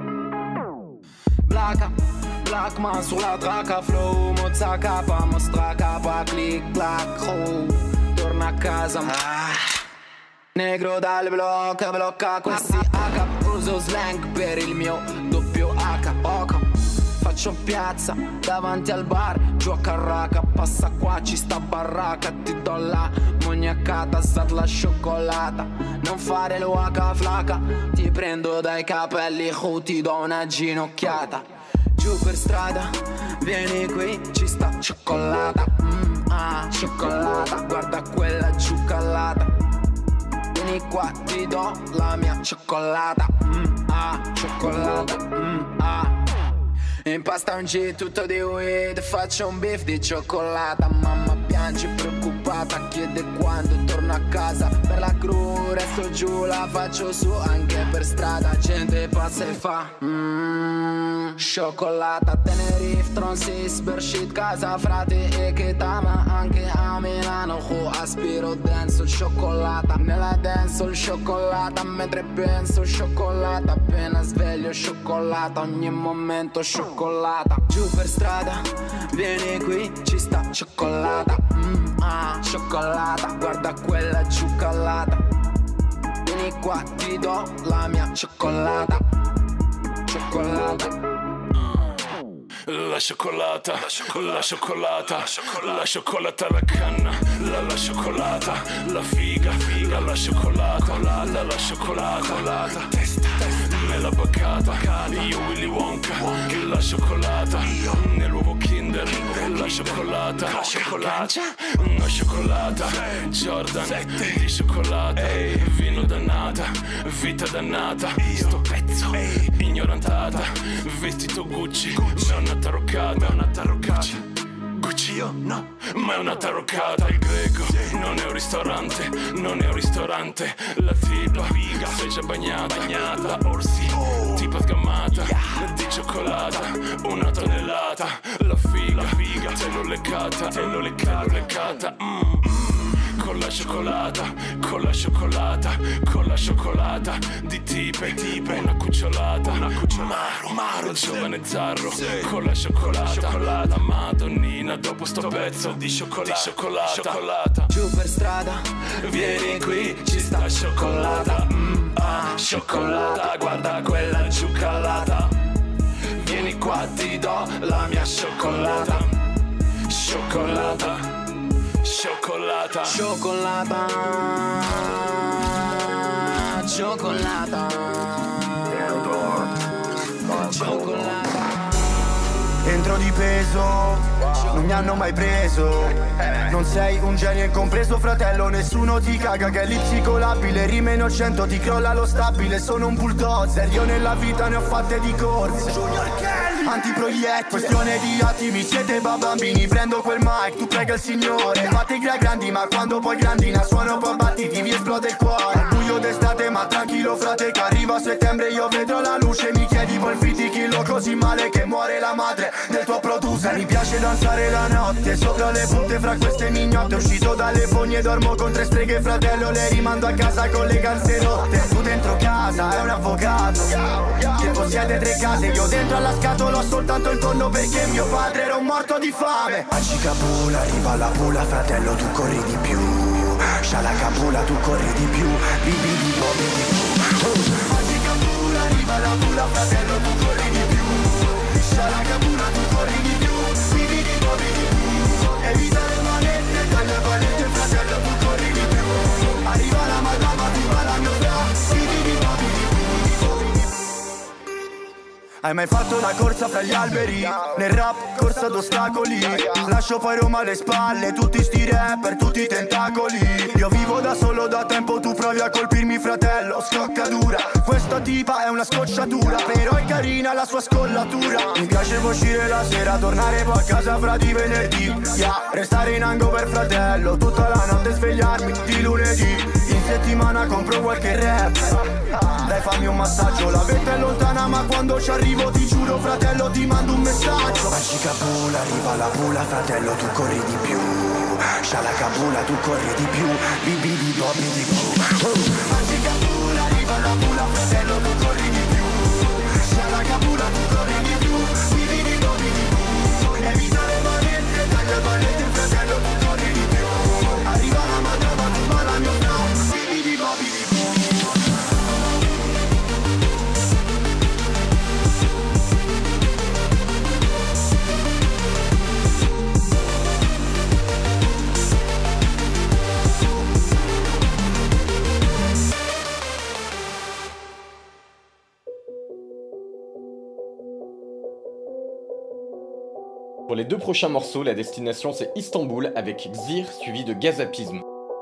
I: Blacca, black man sulla tracca, flow, mozza capa, mostra capa, click, clack, oh, torna a casa. Ah. Negro dal blocca, blocca questi H, uso slang per il mio doppio H, oca. Faccio piazza davanti al bar, gioca a raca, passa qua, ci sta barraca, ti do la mognacata, sar la cioccolata, non fare l'uaca flaca, ti prendo dai capelli, oh, ti do una ginocchiata. Giù per strada, vieni qui, ci sta cioccolata, mm, ah, cioccolata, guarda quella cioccolata. Vieni qua, ti do la mia cioccolata, mm, ah, cioccolata, mm, ah. Impasta un G tutto di weed, faccio un beef di cioccolata. Mamma piange preoccupata, chiede quando torno a casa. Per la crew resto giù, la faccio su anche per strada. Gente passa e fa mmm, cioccolata. Tenerife, Tronsis, Bershit, casa frate e che tama. Anche a Milano, oh, aspiro denso cioccolata. Nella dance cioccolata, mentre penso cioccolata. Appena sveglio cioccolata, ogni momento cioccolata. Giù per strada, vieni qui, ci sta cioccolata, mm, ah, cioccolata, guarda quella cioccolata. Vieni qua, ti do la mia cioccolata, cioccolata.
J: La cioccolata, la cioccolata, la cioccolata alla canna, la la cioccolata, la figa, la la cioccolata, la la cioccolata, testa, nella baccata, io Willy Wonka, la cioccolata, nell'uovo Kinder, la cioccolata, la cioccolata, una cioccolata, Jordan, di cioccolata, vino dannata, vita dannata, sto pezzo, ignorantata, vestito Gucci, ma è una taroccata, una taroccata. Gucci io no, ma è una taroccata. Il greco non è un ristorante, non è un ristorante. La tipa, sei già bagnata, bagnata. La orsi, tipa sgammata, di cioccolata, una tonnellata. La figa, la figa, te l'ho leccata, te l'ho leccata, leccata. Mm. Con la cioccolata, con la cioccolata, con la cioccolata di tipe, tipe, una cucciolata, una cucciolata, maro, giovane zarro, sì. Con la cioccolata, cioccolata, la madonnina dopo sto pezzo di cioccolata, di cioccolata, cioccolata.
I: Giù per strada, vieni qui, ci sta cioccolata, mm, ah, cioccolata, guarda quella cioccolata. Vieni qua, ti do la mia cioccolata, cioccolata. Cioccolata, cioccolata, cioccolata, cioccolata.
S: Entro di peso, non mi hanno mai preso. Non sei un genio incompreso fratello, nessuno ti caga che è lipsicolabile. Rime innocento, ti crolla lo stabile. Sono un bulldozer, io nella vita ne ho fatte di corse. Antiproiettile, questione di attimi, siete bambini. Prendo quel mic, tu prega il signore. Fate i grandi ma quando poi grandina suono poi battiti, mi esplode il cuore. Al buio d'estate ma tranquillo frate, che arriva settembre io vedrò la luce. Mi chiedi poi il fitichillo così male che muore la madre del tuo producer. Mi piace danzare la notte sopra le punte fra queste mignotte. Uscito dalle fogne, dormo con tre streghe fratello, le rimando a casa con le calze rotte. Tu dentro casa è un avvocato, che possiede tre case. Io dentro alla scatola ho soltanto il tonno perché mio padre era un morto di fame. Acicapula, arriva la pula fratello, tu corri di più. Scialacapula, tu corri di più. Bibi di po, bibi di Acicapula, arriva la pula fratello, tu corri di più. Scialacapula, tu corri di più. Bibi di po, bibi di evita le manette, dalle valette fratello, tu corri di più. Arriva la madama, ti va la mia fra. Bibi di po, bibi di Hai mai fatto la corsa fra gli alberi? Nel rap corsa d'ostacoli. Lascio poi Roma alle spalle, tutti sti rapper, tutti i tentacoli. Io vivo da solo da tempo, tu provi a colpirmi fratello, scocca dura. Questa tipa è una scocciatura, però è carina la sua scollatura. Mi piace uscire la sera, tornare poi a casa fra di venerdì, yeah. Restare in ango per fratello, tutta la notte svegliarmi di lunedì. In settimana compro qualche rap, dai fammi un massaggio. La vetta è lontana ma quando ci arrivo ti giuro fratello ti mando un messaggio. Magica Pula, arriva la Pula fratello tu corri di più. Scialaka Pula tu corri di più. Bibi di Bobby di più. Magica Pula, arriva la Pula fratello tu corri di più. Scialaka Pula tu corri di più. Bibi di Bobby di più. Evita le manette, dai le manette fratello tu corri di più. Arriva la madonna tu parla mio flow. Bibi di Bobby di più.
A: Pour les deux prochains morceaux, la destination c'est Istanbul avec Xir suivi de Gazapisme.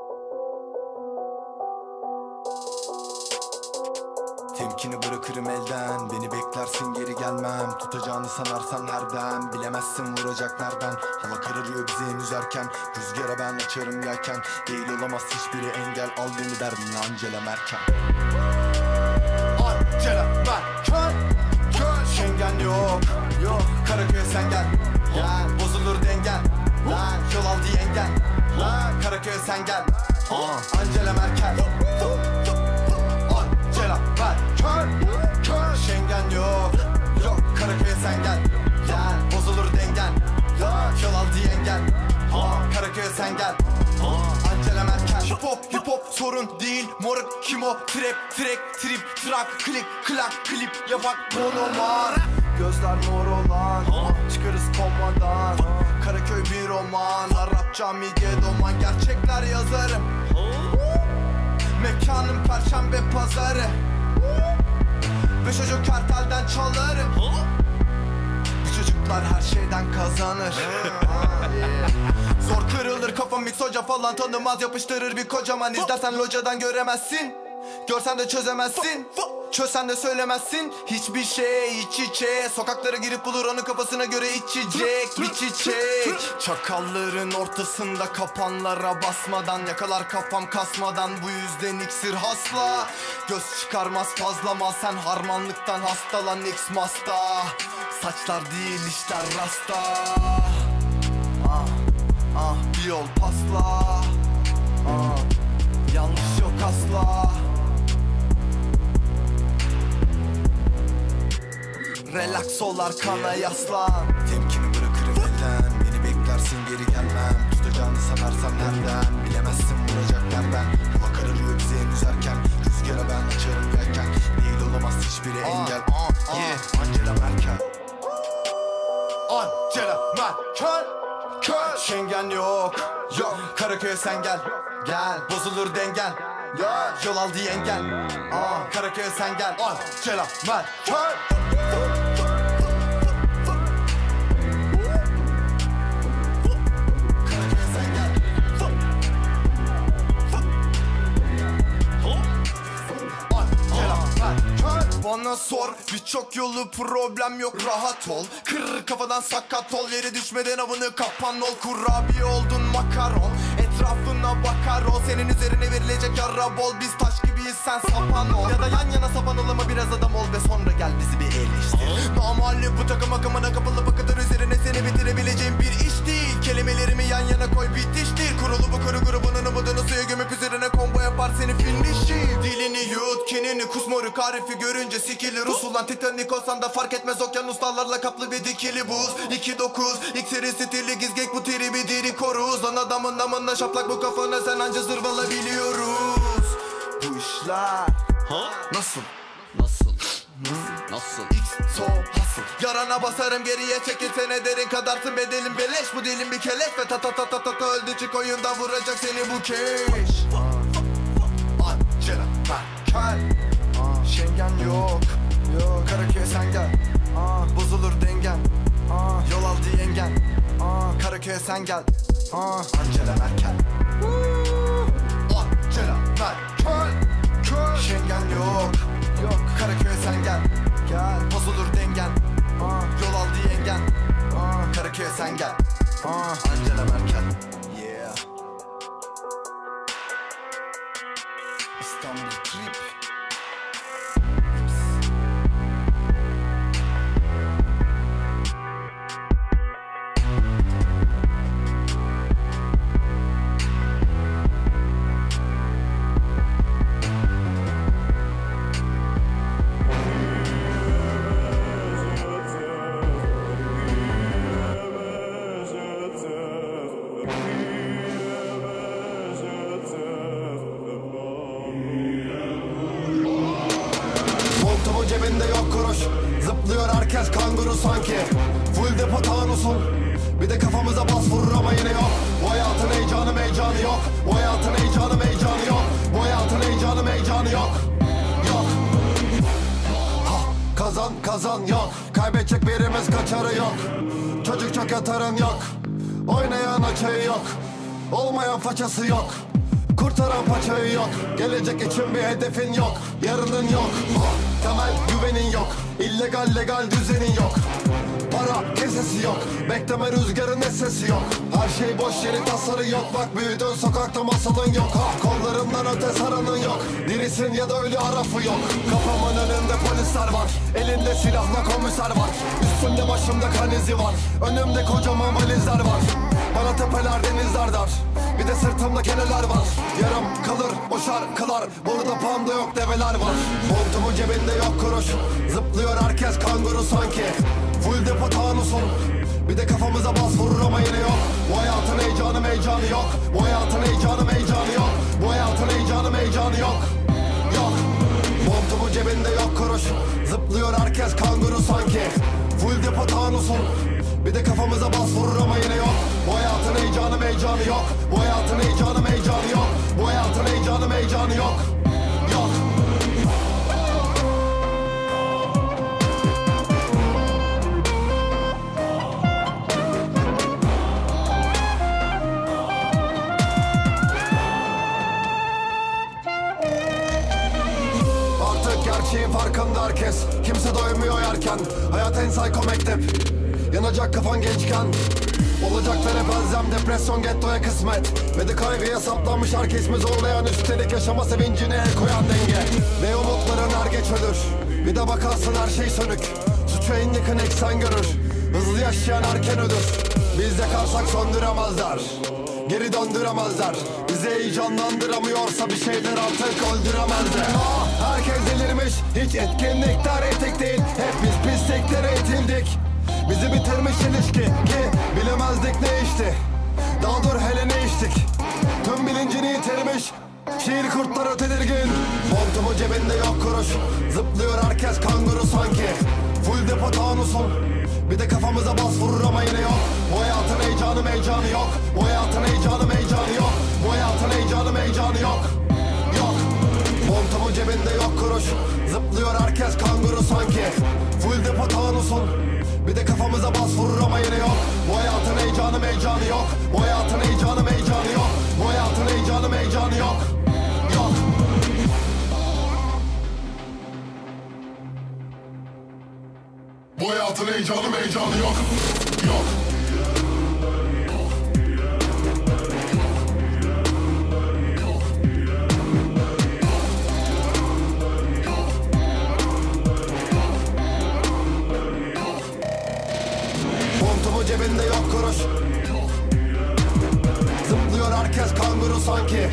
M: Temkini bırakırım elden, beni beklersin geri gelmem. Tutacağını sanarsan her dem, bilemezsin vuracak nereden. Hava kararıyor bizi henüz erken, rüzgara ben açarım yelken. Değil olamaz hiçbiri engel, al beni derdim Angela Merkel. Angela Merkel, Schengen yok, yok. Karaköy'e sen gel, gel. Bozulur dengen, lan. Yol al diyen gel, lan. Karaköy'e sen gel, uh. Angela Merkel. Angela Merkel, Schengen yok, yok. Karaköy'e sen gel, gel. Bozulur dengen, lan. Yol al diyen gel, uh. Karaköy'e sen gel, uh. Angela Merkel. Hip hop, hip hop sorun değil. Moruk kim o? Trap, track, trip, trak, klik, klak, klip. Yapak, monomar. Gözler mor olan, çıkarız komadan. Karaköy bir roman, Arapça midye doman. Gerçekler yazarım, mekanım perşembe pazarı. Beş çocuk kartelden çalarım. Bu çocuklar her şeyden kazanır. Zor kırılır kafam mix hoca falan tanımaz. Yapıştırır bir kocaman, izlersen locadan göremezsin. Görsen de çözemezsin, çözsen de söylemezsin. Hiçbir şey iç içe, sokaklara girip bulur onun kafasına göre içecek bir çiçek. Çakalların ortasında kapanlara basmadan, yakalar kafam kasmadan. Bu yüzden iksir hasla, göz çıkarmaz fazlama. Sen harmanlıktan hastalan X masta. Saçlar değil işler rasta. Ah, ah, bir yol pasla, ah, yanlış yok asla. Relax ol arkana yaslan. Temkini bırakırım elden, beni beklersin geri gelmem. Tutacağını sanarsan nereden, bilemezsin vuracak nereden. Hava kararıyor bize henüz erken, rüzgara ben açarım yelken. Değil olamaz hiçbiri engel, uh, yeah. Angela Merkel, Angela Merkel, Merkel. Schengen yok, yok. Karaköy'e sen gel, gel. Bozulur dengen, ya. Yol al diyen gel, uh. Karaköy'e sen gel, Angela Merkel. Bana sor birçok yolu problem yok rahat ol. Kır kafadan sakat ol, yere düşmeden avını kapan ol. Kurabiye oldun makaron, etrafına bakar ol. Senin üzerine verilecek yara bol, biz taş gibiyiz sen sapan ol. Ya da yan yana sapanalım mı biraz adam ol ve sonra gel bizi bir eleştir. Normalde bu takım akımına kapılı bu kadar üzerine seni bitirebileceğim bir iş değil. Kelimelerimi yan yana koy bitiştir. Kurulu bu kuru grubunun umudunu suya gömüp üzerine combo yapar seni finish'i. Dilini yut kinini kus moruk harifi görünce sikili Rus ulan Titanic olsan da fark etmez okyanuslarla kaplı ve dikili buz. iki dokuz iksiri stili gizgek bu tribi diri koruz. Lan adamın namına şaplak bu kafana sen anca zırvala biliyoruz. Bu işler ha? Nasıl? Nasıl? Nasıl? Nasıl? X so hasıl. Yarana basarım geriye çekilsene derin kadarsın bedelin beleş. Bu dilin bir keleş ve ta ta ta ta ta ta öldü çık oyunda vuracak seni bu keş. Angela Merkel, Schengen yok, yok. Karaköy'e sen gel, Karaköy'e sen gel. Ha. Angela Merkel. Angela Merkel. Schengen yok. Yok. Karaköy'e sen gel. Gel. Bozulur dengen. Ha. Yol aldı yengen. Ha. Karaköy'e sen gel. Ha. Angela Merkel. Yeah. İstanbul Trip. Cebinde yok kuruş, zıplıyor herkes kanguru sanki. Full depo tanusun, bir de kafamıza bas vurur ama yine yok. Bu hayatın heyecanı meycanı yok. Bu hayatın heyecanı meycanı yok. Bu hayatın heyecanı meycanı yok. Yok. Ha, kazan kazan yok. Kaybedecek birimiz kaçarı yok. Çocuk çok yatarın yok. Oynayan açığı yok. Olmayan façası yok. Kurtaran paçayı yok. Gelecek için bir hedefin yok. Yarının yok. Temel güvenin yok. İllegal legal düzenin yok. Para kesesi yok. Bekleme rüzgarın sesi yok. Her şey boş yeri tasarı yok. Bak büyüdün sokakta masalın yok. Ha, kollarından öte saranın yok. Dirisin ya da ölü arafı yok. Kafamın önünde polisler var. Elinde silahla komiser var. Üstümde başımda kan izi var. Önümde kocaman valizler var. Bana tepeler denizler dar. Bir de sırtımda keneler var. Yarım kalır o şarkılar. Burada panda yok develer var. Montumun cebinde yok kuruş. Zıplıyor herkes kanguru sanki. Full depo tanusun. Bir de kafamıza bas vurur ama yine yok. Bu hayatın heyecanı meycanı yok. Bu hayatın heyecanı meycanı yok. Bu hayatın heyecanı meycanı yok. Yok. Montumun cebinde yok kuruş. Zıplıyor herkes kanguru sanki. Full depo tanusun. Bir de kafamıza bas vurur ama yine yok. Bu hayatın heyecanı meycanı yok. Bu hayatın heyecanı meycanı yok. Bu hayatın heyecanı meycanı yok. Yok. Artık gerçeğin farkında herkes. Kimse doymuyor yerken. Hayat en psycho mektep. Yanacak kafan gençken. Olacaklara benzem depresyon gettoya kısmet. Ve de kaygıya saplanmış herkes mi zorlayan. Üstelik yaşama sevincine el koyan denge. Ve umutların er geç ölür. Bir de bakarsın her şey sönük. Suçu en yakın eksen görür. Hızlı yaşayan erken ölür. Biz yakarsak söndüremezler. Geri döndüremezler. Bizi heyecanlandıramıyorsa bir şeyler artık öldüremezler. Ah, herkes delirmiş. Hiç etkinlikler etik değil. Hep biz pisliklere itildik. Bizi bitirmiş ilişki ki bilemezdik ne içti. Daha dur hele ne içtik. Tüm bilincini yitirmiş. Şiir kurtları tedirgin. Montumun cebinde yok kuruş. Zıplıyor herkes kanguru sanki. Full depo tanusun. Bir de kafamıza bas vurur ama yine yok. Bu hayatın heyecanı meycanı yok. Bu hayatın heyecanı meycanı yok. Bu hayatın heyecanı meycanı yok. Yok. Montumun cebinde yok kuruş. Zıplıyor herkes kanguru sanki. Full depo tanusun. Bir de kafamıza bas vurur ama yine yok. Bu hayatın heyecanı meycanı yok. Bu hayatın heyecanı meycanı yok. Bu hayatın heyecanı meycanı yok. Yok. Bu hayatın heyecanı meycanı yok. Yok. Montumun cebinde yok kuruş. Zıplıyor herkes kanguru sanki.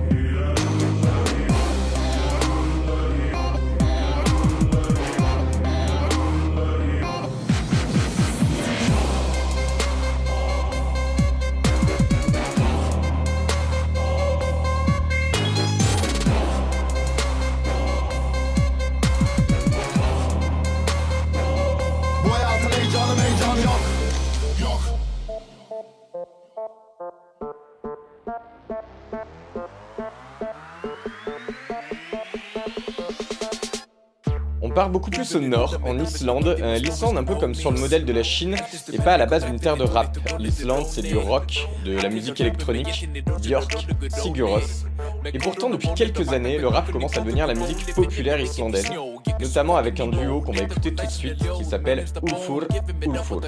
M: Bu hayatın heyecanı meycanı yok. Yok.
A: part beaucoup plus au nord, en Islande. Euh, L'Islande, un peu comme sur le modèle de la Chine, n'est pas à la base une terre de rap. L'Islande, c'est du rock, de la musique électronique, Björk, Sigur Rós. Et pourtant, depuis quelques années, le rap commence à devenir la musique populaire islandaise, notamment avec un duo qu'on va écouter tout de suite qui s'appelle Ulfur Ulfur.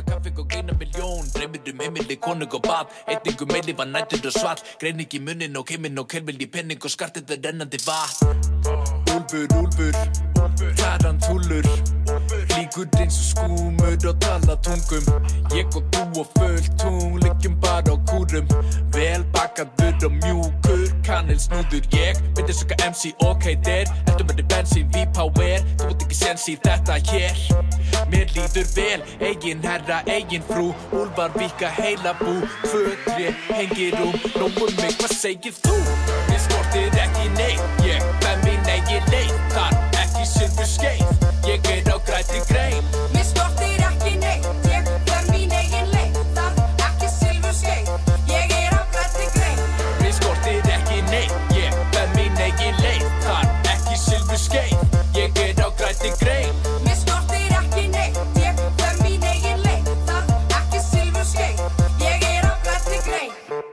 N: Úlfur, úlfur, tarantúllur Flýgur eins og skúmur og tala tungum Ég og þú og fullt tungl, liggjum bara á kúrum Vel bakaður og mjúkur, kanilsnúður Ég myndi söka M C, ok der Heldur með þið bensín, V-Power Þú ert ekki sens í þetta hér Mér líður vel, eigin herra, eigin frú Úlfar víka heila bú Tvö, tré, hengir um Nóum mig, hvað segir þú? Mér skortir ekki neitt Ég fæ mín eigin leið Þar ekki silfur skeið Ég er á grænni grein
C: Mér skortir ekki neitt Ég fer mín eigin leið Þar ekki silfur skeið Ég er á grænni grein
N: Mér skortir ekki neitt Ég fer mín eigin leið Þar ekki silfur skeið Ég er á grænni grein
C: Mér skortir ekki neitt Ég fer mín eigin leið Þar ekki silfur skeið Ég er á grænni grein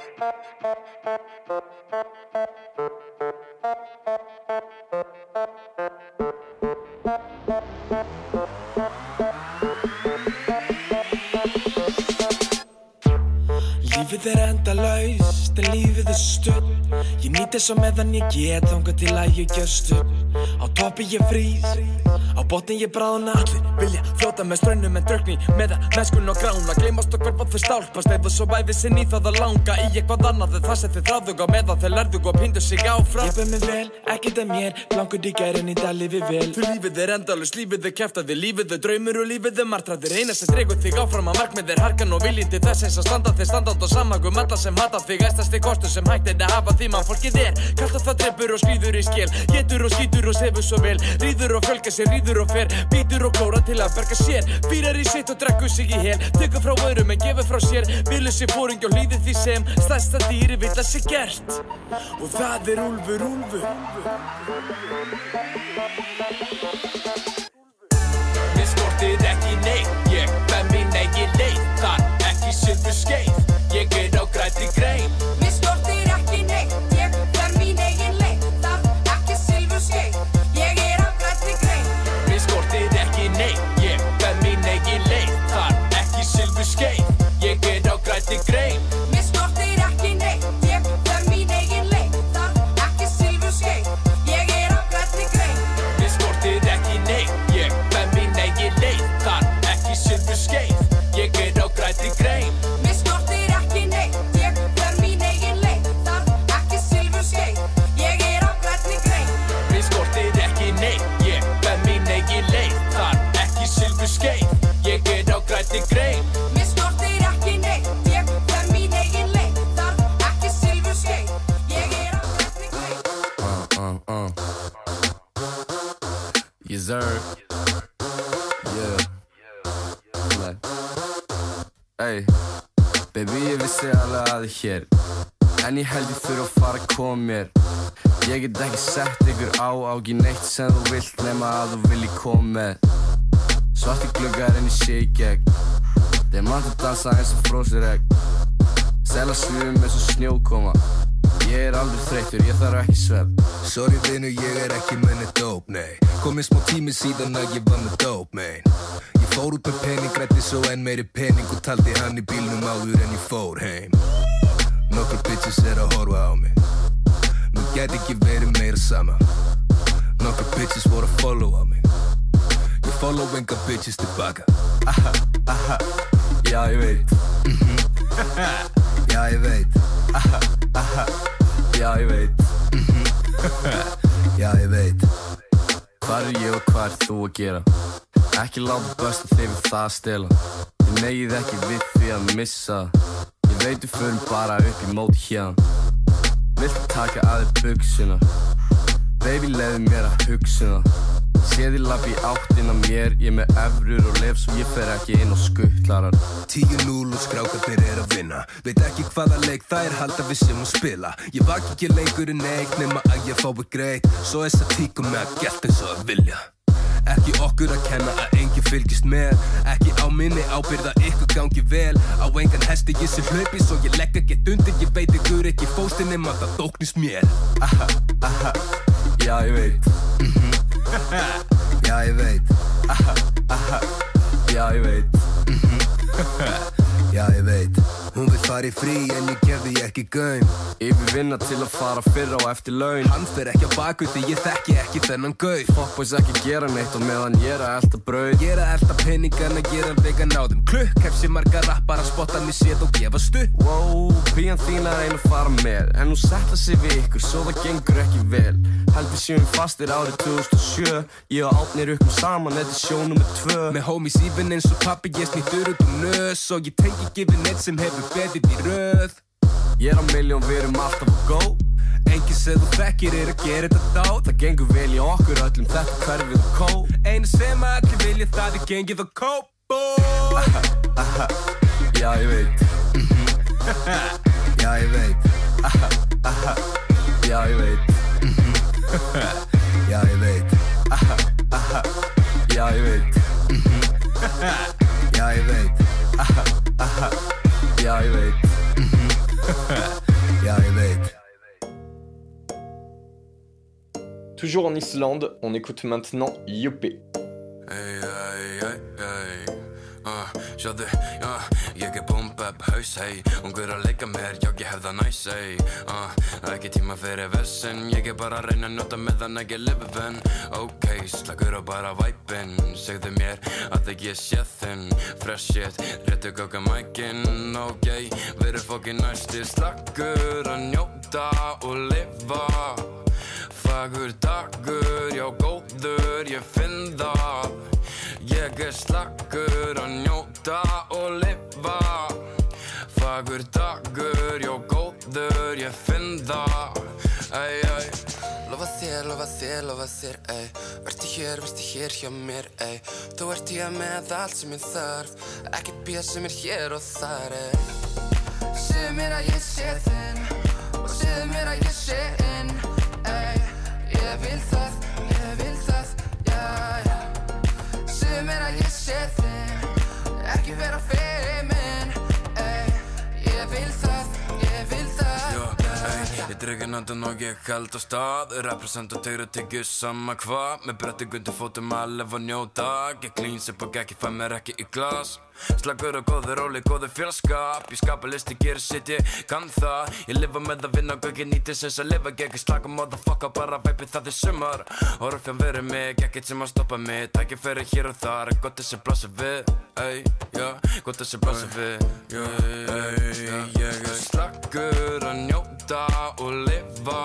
N: Lífið er endalaust, en lífið er stutt Ég nýt þess á meðan ég get Þangað til að ég gjöst upp Á toppi ég frýs Á botni ég bráðna Allir vilja fljóta með straunum en drukni Meðan mennskun og grána Gleymast og hverfa þau stálpast Eða svo væfi sinn í það að langa Í eitthvað annað en það sem þið þráðug á Meðan þau lærðug og píndu sig áfram Ég ber mig vel, ekkert að mér Blankur í gær en í dag lífi vel Þú lífið er endalaust, lífið er kjaftaði Lífið er draumur og lífið er martraðir Eina sem dregur þig áfram að markmið er harkan og viljinn til þess eins að standa þig standand og samagum alla sem hata þig Æstasti kostur sem hægt er að hafa því mann fólkið er Kalt að það dreipur og skrýður í skil Getur og skýtur og sefur svo vel Ríður og fjölga sér, ríður og fer Bítur og klóra til að berga sér Býrar í sitt og drekkur sig í hel Tekur frá öðrum en gefur frá sér Vilur sér fóringi og hlýðir því sem Stærsta dýri vill að sé gert Og það er Úlfur, Úlfur Mér skortir ekki neitt Ég fæ mín eigin leið Þar ekki silfur skeið Ég er á grænni grein
C: Mér skortir ekki neitt Ég fer mín eigin leið Þar ekki silfur skeið Ég er á grænni grein
N: Mér skortir ekki neitt Ég fæ mín eigin leið Þar ekki silfur skeið Ég er á grænni grein
C: Mér skortir ekki neitt Ég fer mín eigin leið Þar ekki silfur skeið Ég er á grænni grein
N: Mér skortir ekki neitt Ég fæ mín eigin leið Þar ekki silfur skeið Ég er á grænni grein
C: Mér skortir ekki neitt Ég fer mín eigin leið Þar ekki silfur skeið Ég er á grænni grein
N: Mér skortir ekki neitt Ég fæ mín eigin leið Þar ekki silfur skeið Ég er á grænni grein
C: Mér skortir ekki neitt Ég fer mín eigin leið Þar ekki silfur skeið Ég er á grænni grein
O: Uh, uh, uh Yes sir Yeah Like Ey Baby ég vissi alveg að þið hér En ég held ég þurfa að fara að koma mér Ég get ekki sett ykkur á Á ekki neitt sem þú vilt Nema að þú vilji koma með Svarti gluggar en ég sé í gegn Þeir mann að dansa eins og frósir egg Sela svifum eins og snjókoma Ég er aldrei þreyttur, ég þarf ekki svefn
P: Sorry vinur, ég er ekki með neitt dope, nei Komið smá tími síðan að ég var með dope, man Ég fór út með pening, grætti svo enn meiri pening Og taldi hann í bílnum áður en ég fór heim Nokkur bitches er að horfa á mig Mér gæti ekki verið meira sama Nokkur bitches voru að follow á mig Ég follow enga bitches tilbaka
O: Aha, aha, já ég veit
P: mm-hmm. Já ég veit
O: Aha, aha, já ég veit
P: mm-hmm. Já ég veit
O: Hvað er ég og hvað er þú að gera? Ekki láta besta þig við það að stela Þið megið ekki við því að missa Ég veit við förum bara upp í móti hérna Viltu taka að þér buxuna Baby leiði mér að hugsuna Sé þið labbi í áttina mér Ég með evrur og lef svo ég fer ekki inn á skuttlarar
P: Tíu núll og skrákarnir er að vinna Veit ekki hvaða leik það er halda við sem að spila Ég vak ekki leikur en neitt nema að ég fái greitt Svo þess að tíka með að gert eins og að vilja Ekki okkur að kenna að enginn fylgist með. Ekki á minni ábyrgð að ykkur gangi vel. Á engan hesti ég sé hlaupi svo ég legg ekkert undir. Ég veit ykkur ekki fóstinn nema það þóknist mér. Aha, aha, já ég veit. Mhm, já ég veit. Aha, aha, já ég veit. Mhm, já ég veit. Hún vil fara í frí en ég gef því ekki gaum.
O: Yfir vinna til að fara fyrr á eftir laun.
P: Hann fer ekki á baku því ég þekki ekki þennan gauð.
O: Fuckboys ekki gera neitt og meðan ég er að elta brauð.
P: Ég er að elta peningana, ég er að vega náðum klukk. Hef sér marga rappar að spotta mig séð og gefa stutt.
O: Wow, pían þín er ein að fara með. En hún settla sig við ykkur svo það gengur ekki vel. Heldur sjöum fastir árið tvö þúsund og sjö. Ég og Árni rukkum saman, þetta er sjó númer tvö.
P: Með homies even eins og pappi ég snýttur út um nös. Og ég tengi ekki við neitt sem hefur betið í röð.
O: Ég er á miljón, við erum alltaf að go.
P: Enginn sem þú þekkir er að gera þetta dát.
O: Það gengur vel í okkur öllum, þetta hverfið og kó.
P: Einu sem allir vilja það er gengið og kó.
O: Aha, aha, já ég veit.
P: Já ég veit.
O: Aha, aha, já ég veit.
P: Já ég veit.
O: Aha, aha, já ég veit.
P: Já ég veit.
O: Aha, aha, já ég veit.
P: Já ég veit.
A: Toujours en Islande, on écoute maintenant Joppe.
Q: Hey, hey, hey, hey. Uh, sjáðu, já, ég er bomb-up haus, hey. Ungur að leika mér, já, ég hef það næs, hey. uh, Ekki tíma fyrir vessin. Ég er bara að reyna að njóta meðan ekki lifi venn. Ok, slagur og bara væpinn. Segðu mér að það ég sé þinn. Fresh shit, réttu gáka mækinn. Ok, við erum fokkin næsti. Slagur að njóta og lifa. Fagur dagur, já góður, ég finn það. Ég er slagur að njóta og lifa. Fagur dagur, já góður, ég finn það. Ey, ey. Lofa þér, lofa þér, lofa þér, ey. Vertu hér, vertu hér hjá mér, ey. Þú ert hér með allt sem ég þarf. Ekkert bíð sem er hér og þar, ey. Segðu mér að ég sé þinn og segðu mér að ég sé inn, ey. Ég vil það, ég vil það, já, já. Segðu mér að ég sé þinn, ekki vera feimin, ey. Ég vil það, ég vil það, já, ey. Ég dreg en andan og ég held á stað. Represent og tegru tyggju sama hvað. Með bretti gundur fótum að lifa og njóta. Ég clean sip og ekki fæ mér ekki í glas. Slagur og góður róli, góður félagskap. Ég skapa listi, gerir sitt, ég kann það. Ég lifa með að vinna og ekki nýti sem að lifa. Gekki slaka, motherfucker, bara væpi það er sumar. Orðfján verið mig, ekkert sem að stoppa mig. Tækir fyrir hér og þar, gott þessi blasa við. Ey, já, gott þessi blasa við. Ey, ég er slagur að njóta og lifa.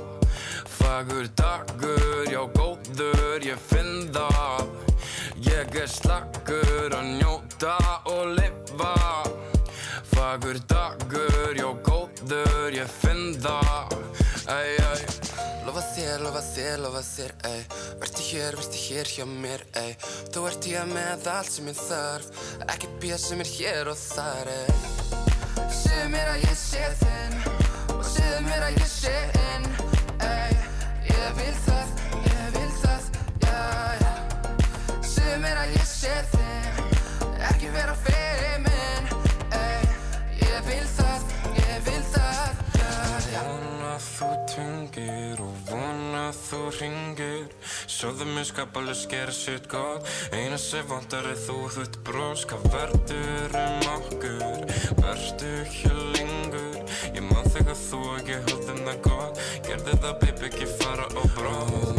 Q: Fagur dagur, já góður, ég finn það. Ég er slagur að njóta og lifa. Fagur dagur, já góður, ég finn það. Ey, ey. Lofa þér, lofa þér, lofa þér, ey. Vertu hér, vertu hér hjá mér, ey. Þú ert hér með allt sem ég þarf. Ekkert bíð sem er hér og þar, ey. Segðu mér að ég sé þinn og segðu mér að ég sé inn, ey. Ég vil það, ég vil það, já, já. Segðu mér að ég sé þinn, ekki vera feimin, ey. Ég vil það, ég vil það, já, já. Vona þú tungir og vona þú ringir. Sjóðu mér skapalus gera sitt gott. Eina sem vantar er þú, þú ert brós. Hvað verður um okkur? Vertu hér lengur? Ég man þegar þú og ég höfðum það gott. Gerði það baby, ekki fara á bróð.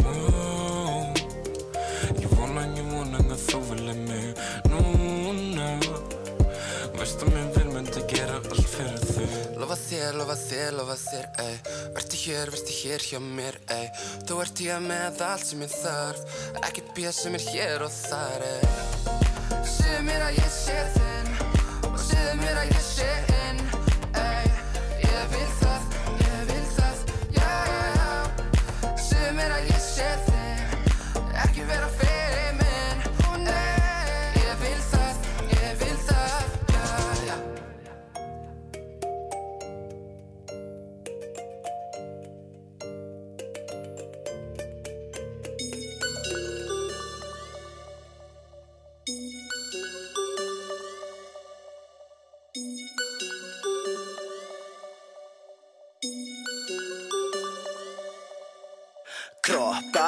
Q: Ég vona, ég vona að þú vilja mig núna. Veistu mér vil myndi gera allt fyrir þig. Lofa þér, lofa þér, lofa þér, ey. Vertu hér, vertu hér hjá mér, ey. Þú ert hér með allt sem ég þarf. Ekkert bíð sem er hér og þar, ey. Segðu mér að ég sé þinn og segðu mér að ég sé inn, ey. Ég vil það, ég vil það, já, já. Segðu mér að ég sé þinn, ekki vera feimin, ey. Ég vil það, ég vil það, já, já.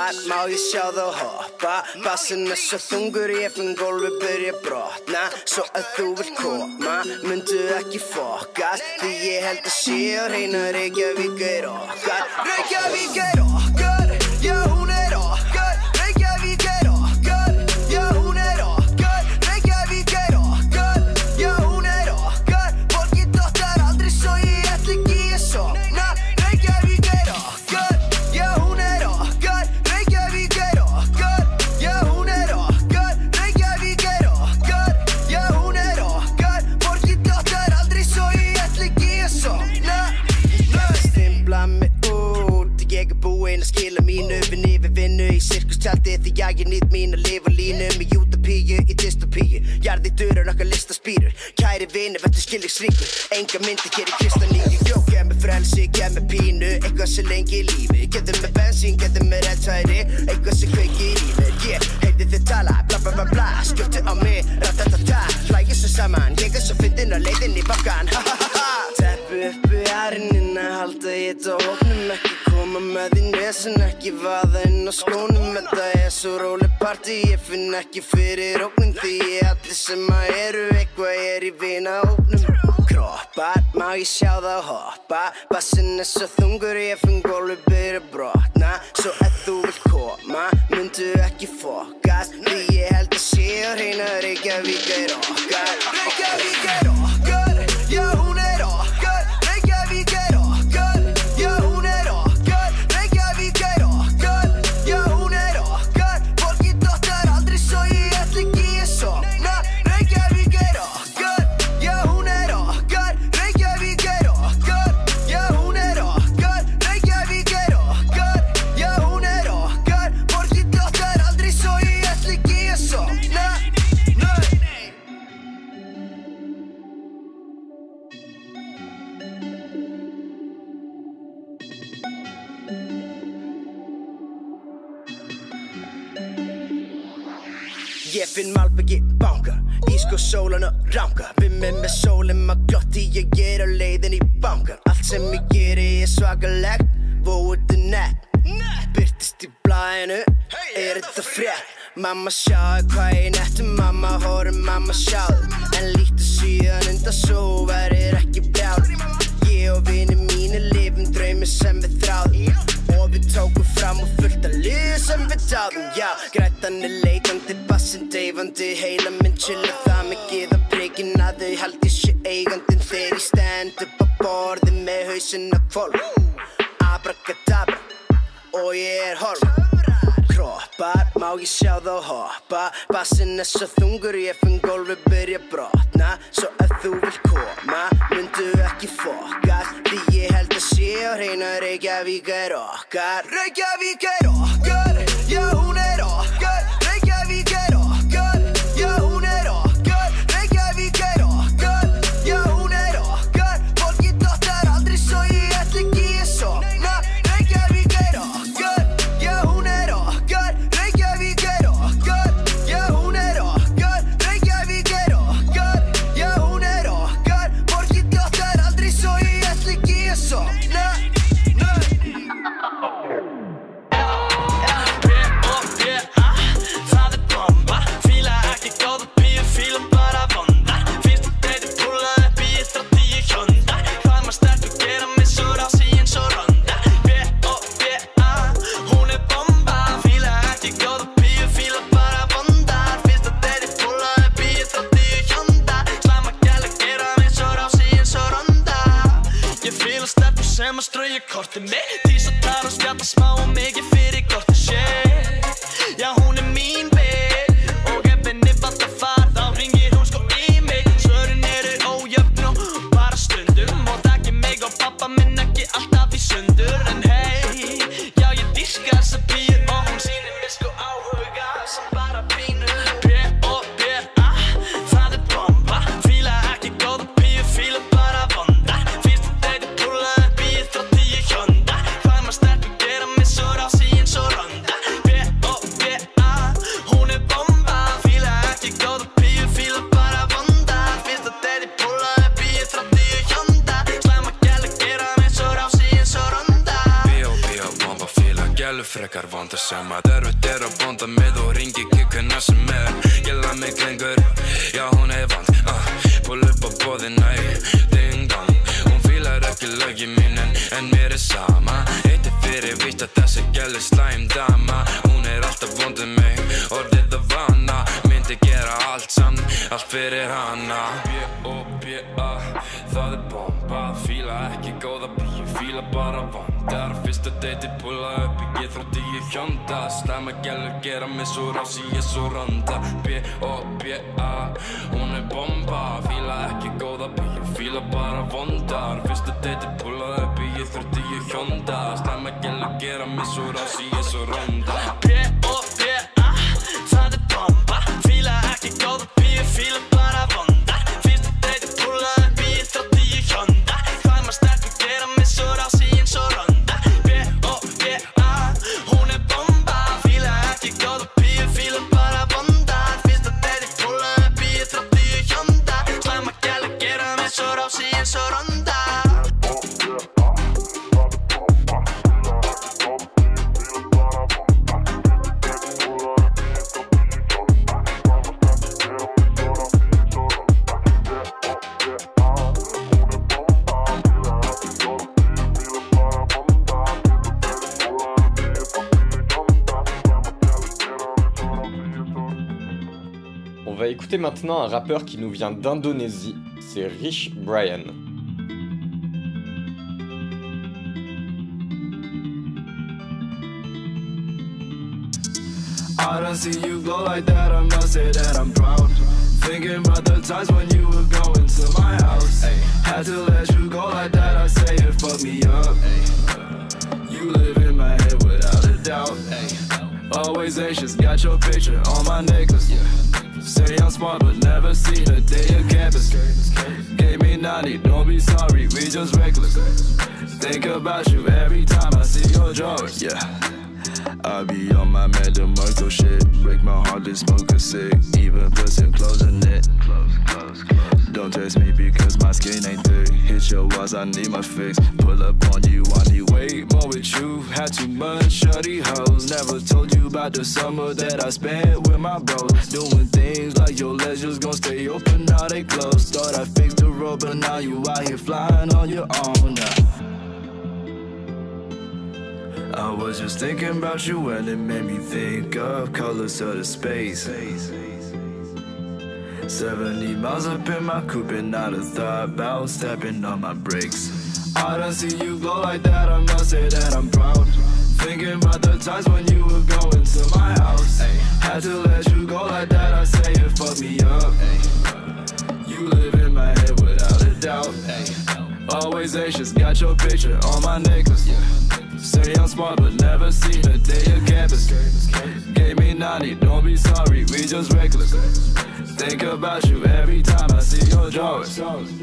L: Kroppar, má ég sjá þá hoppa Bassinn er svo þungur, ég finn gólfi byrja brotna Svo að þú vilt koma, myndu ekki fokast Því ég held að sé og reyna Reykjavík er okkar Reykjavík er okkar, já hún er okkar Reykjavík er okkar, já hún er okkar Reykjavík er okkar, já hún er okkar Borgin dottar aldrei svo ég ætla ekki að sofna Reykjavík er okkar, já hún er okkar Reykjavík er okkar, já hún er okkar Reykjavík er okkar, já hún er okkar Borgin dottar aldrei svo ég ætla ekki að sofna Ég stimpla mig út Ég er búinn að skila mínu Vinni við vinnu í sirkustjaldi Því að ég nýtt mín að lifa línu Með utopíu í dystopíu Jarði dörur okkar listaspýrur Kæri vini, verður skilningsríkur Enga myndi hér í kristaníu Jó, gef mig frelsi, gef mig pínu Eitthvað sem lengi í lífi Getur mig bensín, getur mig rettæri Eitthvað sem kveikir í mér Ég heyrði þið tala, bla bla bla bla Skjóttu á mig, ratatata Hlægir svo saman, ég er svo fyndin á leiðin í bakkan Ha ha ha ha Teppu uppi ærinin að halda ég þetta hóknum Ekki koma með í nesen, ekki vaða inn á skónum Þetta er svo róleg partí, ég finn ekki fyrir ógnum Því allir sem að eru eitthvað er í vinahópnum Kroppar, má ég sjá það hoppa Bassinn er svo þungur, ég finn gólfi byrja brotna Svo ef þú vilt koma, myndu ekki fokast Því ég held að sé og reyna Reykjavík er okkar Reykjavík er okkar, já hún er okkar Reykjavík er okkar, já hún er okkar Reykjavík er okkar, já hún er okkar Borgin dottar aldrei svo ég ætla ekki að sofna Reykjavík er okkar, já hún er okkar Reykjavík er okkar, já hún er okkar Reykjavík er okkar, já hún er okkar Borgin dottar aldrei svo ég ætla ekki að sofna Ég finn malbyggi banka, ísko sólan og ranka Vimmi með sólinn maður glotti, ég er á leiðin í bankan Allt sem ég geri er svakalegt, vóið er nett Byrtist í blæðinu, er þetta frétt Mamma sjáðu hvað ég nettu, mamma horfum, mamma sjáðu En líktu síðan undan svo verður ekki brjáð Ég og vini mínir lifum draumi sem við þráðum Og við tókum fram og fullt af liði sem við táðum Já, grætan er leitandi, bassinn deyfandi Heila minn chilla það mikið á prikinn að þau haldi sér eigandinn Þegar ég stend upp á borði með hausinn á hvolf Abracadabra og ég er horf Kroppar, má ég sjá þá hoppa Bassinn er svo þungur, ég finn gólfi byrja brotna Svo ef þú vilt koma, myndu ekki fokast Því ég held að sé og reyna Reykjavík er okkar Reykjavík er okkar, já hún er okkar Reykjavík er okkar, já hún er okkar Reykjavík er okkar, já hún er okkar Borgin dottar aldrei svo ég ætla ekki að sofna Reykjavík er okkar, já hún er okkar Reykjavík er okkar, já hún er okkar Reykjavík er okkar, já hún er okkar Borgin dottar aldrei svo ég ætla ekki að sofna
F: Það er bomba, fíla ekki góða píu, fíla bara vonda Fyrstu deiti púlað upp í eitt og tíu hjónda Hvað maður sterkur gera mig svo rási eins og ronda B O B A, hún er bomba Fíla ekki góða píu, fíla bara vonda Fyrstu deiti púlað upp í eitt og tíu hjónda Slæma gæla gera mig svo rási eins og ronda Ég fíla stefnu sem að strauja kortið mitt Því svo tar og spjalla smá og mikið fyrir kortið shit Já, hún er mín bitch Og ef henni vantar far, þá hringir hún sko í mig Svörin eru ójöfn og bara stundum Og takk mig og pappa minn ekki alltaf í sundur En hey, já ég dýrka þessa píu Og hún sýnir mér sko áhuga sem bara pínu B O B A, það er bomba Fíla ekki góða píu, fíla bara vonda Fyrstu deiti púlað upp í eitt og tíu hjónda Hvað maður sterkur gera mig svo rási
Q: frekar vondar sem að erfitt er að bonda með og ringi kikkuna sem er Ég lað mig lengur, já hún er vant uh, Pull upp á boðina í ding dong Hún fílar ekki lögin mín en, en mér er sama Eitt er fyrir víst að þessi gæl er slæm dama Hún er alltaf vondið mig, orðið að vana Myndi gera allt samt, allt fyrir hana B-O-B-A, það er bomba Fíla ekki góða bíu, fíla bara vandar Fyrsta deiti pulla upp í G þrjátíu Honda Slæma gælur gera mig svo rási, ég svo ronda B-O-B-A, hún er bomba Fíla ekki góða bíu, fíla bara vandar Fyrsta deiti pulla upp í G þrjátíu Honda Slæma gælur gera mig svo rási, ég svo ronda
D: B-O-B-A, það er bomba Fíla ekki góða bíu, fíla bara vandar Fyrsta deiti pulla upp í G þrjátíu Honda Hvað maður sterkur gera mig svo rási eins og ronda B-O-B-A, hún er bomba Fíla ekki góða bíu, fíla bara vandar Fyrsta deiti pulla upp í G þrjátíu Honda Slæma gæla gera mig svo rási eins og ronda
A: On va écouter maintenant un rappeur qui nous vient d'Indonésie, c'est Rich Brian.
V: I don't see you go like that, I must say that I'm proud. Thinking about the times when you were going to my house. Ay. Had to let you go like that, I say it fucked me up. Ay. You live in my head without a doubt. Ay. Always anxious, got your picture on my necklace. Yeah. Say I'm smart but never seen a day of campus. Gave me ninety, don't be sorry, we just reckless. Think about you every time I see your drawers. Yeah. I be on my Mad DeMarco shit. Break my heart to smoke a cig. Even put some clothes in it. Don't test me because my skin ain't thick. Hit your walls, I need my fix. Pull up on you, I need way more with you. Had too much shorty hoes. Never told you about the summer that I spent with my bros. Doing things like your legs just gon' stay open, now they closed. Thought I fixed the road, but now you out here flying on your own now. I was just thinking about you and it made me think of colors of the space. Seventy miles up in my coupe and not a thought about stepping on my brakes. I don't see you go like that, I must say that I'm proud. Thinking about the times when you were going to my house. Ay. Had to let you go like that, I say it fucked me up. Ay. You live in my head without a doubt. Ay. Always anxious, got your picture on my necklace. Yeah. Say I'm smart but never seen a day of campus. Gave me ninety, don't be sorry, we just reckless. Think about you every time I see your drawers.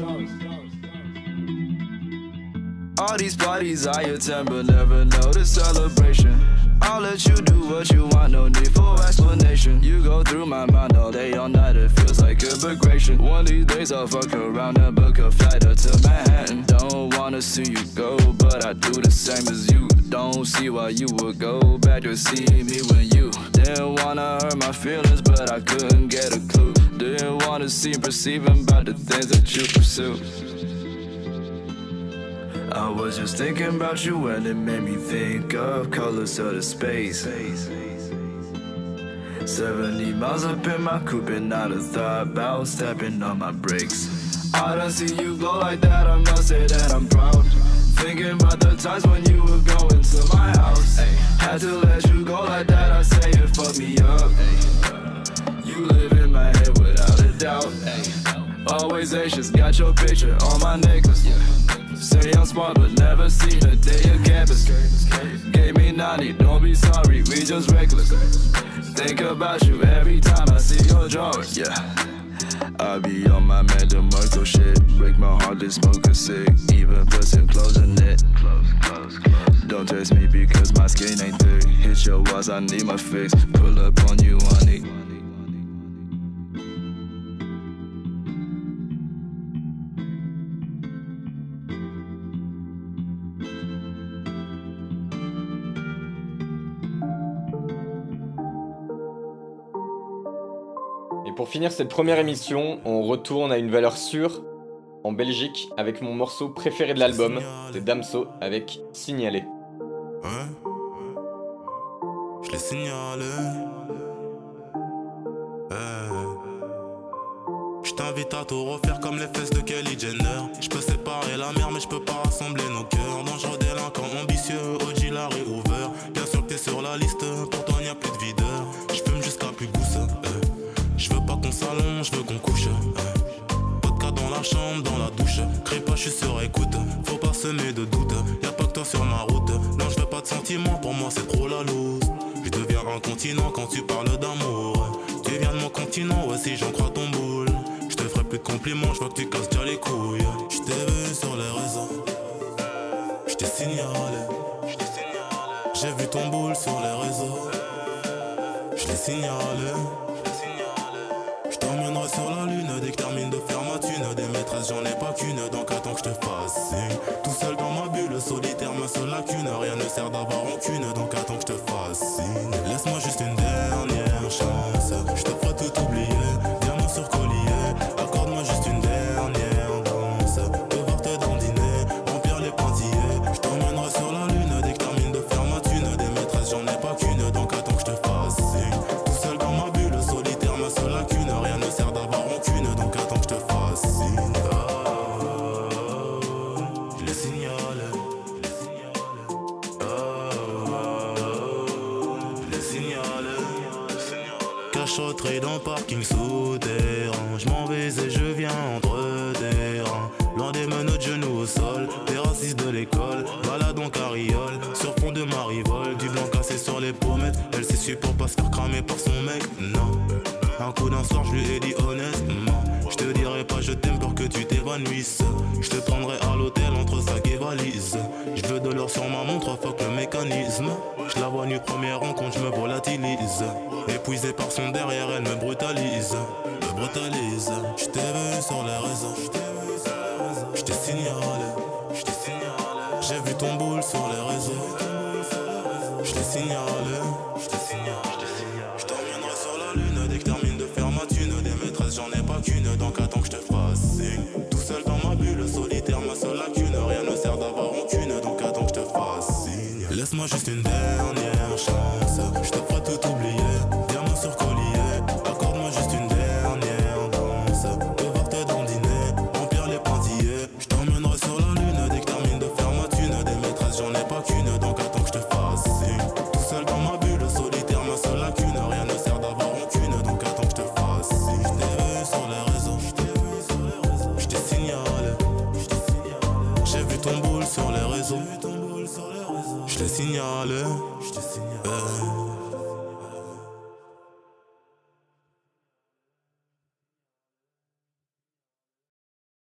V: All these parties I attend but never know the celebration. I'll let you do what you want, no need for explanation. You go through my mind all day, all night, it feels like immigration. One of these days I'll fuck around and book a flight up to Manhattan. Don't wanna see you go, but I do the same as you. Don't see why you would go back to see me when you didn't wanna hurt my feelings, but I couldn't get a clue. Didn't wanna seem perceiving about the things that you pursue. I was just thinking about you and it made me think of colors of the space. Seventy miles up in my coupe and not a thought about stepping on my brakes. I don't see you go like that, I must say that I'm proud. Thinking about the times when you were going to my house. Ay. Had to let you go like that, I say it fucked me up. Ay. You live in my head without a doubt. Ay. Always anxious, got your picture on my necklace. Yeah. Say I'm smart but never seen a day of campus. Gave me ninety, don't be sorry, we just reckless. Think about you every time I see your drawers. Yeah. I be on my Mad DeMarco shit. Break my heart to smoke a cig. Even put some clothes in it. Don't test me because my skin ain't thick. Hit your walls, I need my fix. Pull up on you, honey.
A: Pour finir cette première émission, on retourne à une valeur sûre en Belgique avec mon morceau préféré de l'album, c'est Damso avec Signalé.
H: Ouais. Je l'ai signalé. Hey. Je t'invite à tout refaire comme les fesses de Kylie Jenner. Je peux séparer la mer mais je peux pas rassembler nos cœurs. Dangereux délinquant ambitieux, O G Larry Hoover. Bien sûr que t'es sur la liste, pour toi y a plus de videur. Je fume jusqu'à plus gousse. Hey. Je veux pas qu'on s'allonge, je veux qu'on couche. Hey. Vodka dans la chambre, dans la douche. Crie pas, je suis sur écoute. Faut pas semer de doute. Y'a pas que toi sur ma route. Non, je veux pas de sentiments, pour moi c'est trop la loose. Je deviens un continent quand tu parles d'amour. Tu viens de mon continent, ouais si j'en crois ton boule. Je te ferai plus de compliments, je vois que tu casses déjà les couilles. Je t'ai vu sur les réseaux. Je t'ai signalé. J'ai vu ton boule sur les réseaux. Je l'ai signalé. Je t'emmènerai sur la lune dès que termine de faire ma thune. Des maîtresses j'en ai pas qu'une, donc attends que je te fasse signe. Tout seul dans ma bulle, solitaire ma seule lacune. Rien ne sert d'avoir rancune, donc attends que je te fasse signe. Laisse-moi juste une dernière chance. Je te ferai tout oublier, diamant sur collier. Accorde-moi juste une dernière danse. Devoir te dandiner, remplir les pointillés. Je t'emmènerai sur la lune dès que termine de faire ma thune. Des maîtresses j'en ai pas qu'une, donc attends que je te fasse signe. Tout seul dans ma bulle, solitaire ma seule lacune. Rien ne sert d'avoir rancune, donc attends que je te fasse signe. Je l'ai signalé. Je l'ai signalé. Cachotterie dans parking souterrain. Je m'en vais et je viens entre terrain. Loin des menottes, genoux au sol. Des racistes de l'école, balade en carriole. Sur fond de marivole, du blanc cassé sur les pommettes. Elle s'est su pour pas se faire cramer par son mec, non. Un coup d'un soir, je lui ai dit honnêtement. Je te dirai pas je t'aime pour que tu t'évanouisses. Je te prendrai à l'hôtel entre sac et valise. Je veux de l'or sur ma montre, fuck le mécanisme. Je la vois nue première rencontre, je me volatilise. Épuisée par son derrière, elle me brutalise. Me brutalise. Je t'ai vu sur les réseaux. Je t'ai signalé. J'ai vu ton boule sur les réseaux. Je t'ai signalé. Je t'emmènerai sur la lune dès que termine de faire ma thune. Des maîtresses j'en ai pas qu'une, donc attends que je te fasse signe. Tout seul dans ma bulle, solitaire ma seule lacune. Rien ne sert d'avoir rancune, donc attends que je te fasse signe. Laisse-moi juste une dernière chance. Je te ferai tout oublier, diamant sur collier. Accorde-moi juste une dernière danse. Devoir te dandiner, remplir les pointillés. Je t'emmènerai sur la lune dès que termine de faire ma thune. Des maîtresses j'en ai pas qu'une, donc attends que je te fasse signe. Tout seul dans ma bulle, solitaire ma seule lacune. Rien ne sert d'avoir rancune, donc attends que je te fasse signe. Je t'ai vu sur les réseaux. Je t'ai signalé. J'ai vu ton boule sur les réseaux. Je l'ai signalé. Hey.